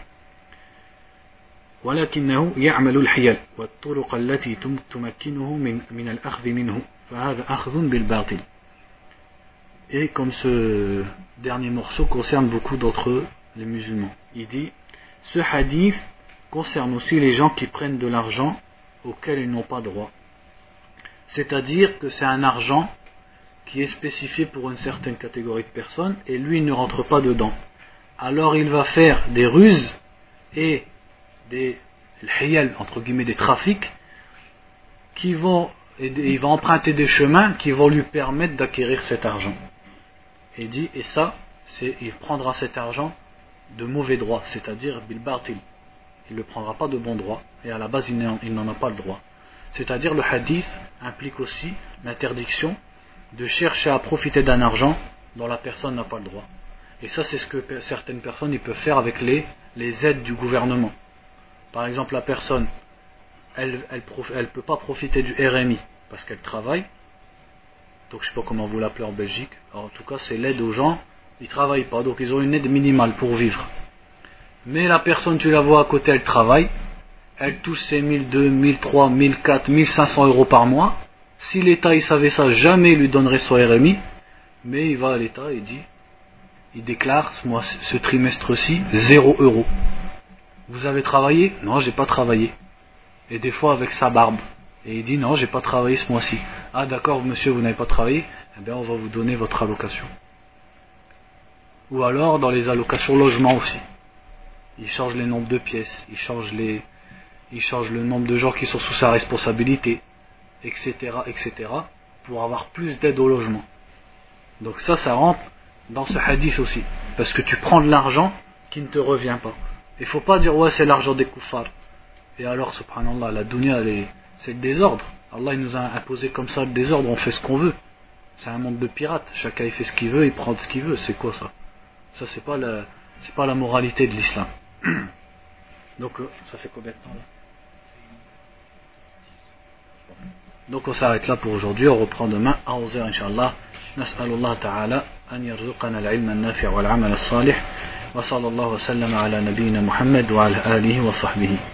ولكنه يعمل الحيل والطرق التي تمكنه من من الأخذ منه فهذا أخذ بالباطل. Et comme ce dernier morceau concerne beaucoup d'entre eux, les musulmans, il dit, ce hadith concerne aussi les gens qui prennent de l'argent auquel ils n'ont pas droit. C'est-à-dire que c'est un argent qui est spécifié pour une certaine catégorie de personnes et lui il ne rentre pas dedans. Alors il va faire des ruses et des hiyal, entre guillemets des trafics, qui vont, et il va emprunter des chemins qui vont lui permettre d'acquérir cet argent. Et il dit, et ça, c'est, il prendra cet argent de mauvais droit, c'est-à-dire bil batil. Il ne le prendra pas de bon droit, et à la base il n'en, il n'en a pas le droit. C'est-à-dire le hadith implique aussi l'interdiction de chercher à profiter d'un argent dont la personne n'a pas le droit. Et ça c'est ce que certaines personnes ils peuvent faire avec les, les aides du gouvernement. Par exemple la personne elle elle, elle peut pas profiter du R M I parce qu'elle travaille, donc je sais pas comment vous l'appelez en Belgique. Alors, en tout cas c'est l'aide aux gens, ils travaillent pas, donc ils ont une aide minimale pour vivre. Mais la personne tu la vois à côté, elle travaille, elle touche ses mille deux, mille trois, mille quatre, mille cinq cents euros par mois. Si l'État il savait ça, jamais il lui donnerait son R M I, mais il va à l'État et dit, il déclare ce, mois, ce trimestre-ci zéro euro. Vous avez travaillé? Non, j'ai pas travaillé. Et des fois avec sa barbe. Et il dit non, j'ai pas travaillé ce mois-ci. Ah d'accord, monsieur, vous n'avez pas travaillé? Eh bien on va vous donner votre allocation. Ou alors dans les allocations logement aussi. Il change les nombres de pièces, il change les, il change le nombre de gens qui sont sous sa responsabilité, et cetera, et cetera, pour avoir plus d'aide au logement. Donc ça, ça rentre dans ce hadith aussi, parce que tu prends de l'argent qui ne te revient pas. Il ne faut pas dire ouais c'est l'argent des kuffars. Et alors subhanallah, la dunya elle est, c'est le désordre. Allah il nous a imposé comme ça le désordre, on fait ce qu'on veut. C'est un monde de pirates, chacun il fait ce qu'il veut, il prend ce qu'il veut. C'est quoi ça? Ça c'est pas la, c'est pas la moralité de l'islam. Donc ça fait combien de temps là? Donc on s'arrête là pour aujourd'hui, on reprend demain à onze heures Inch'Allah. Nas'alullah ta'ala an yarzuqana al-ilma an-nafi' wal-amal as-salih wa sallallahu wa sallam ala nabiyyina Muhammad wa ala alihi wa sahbihi.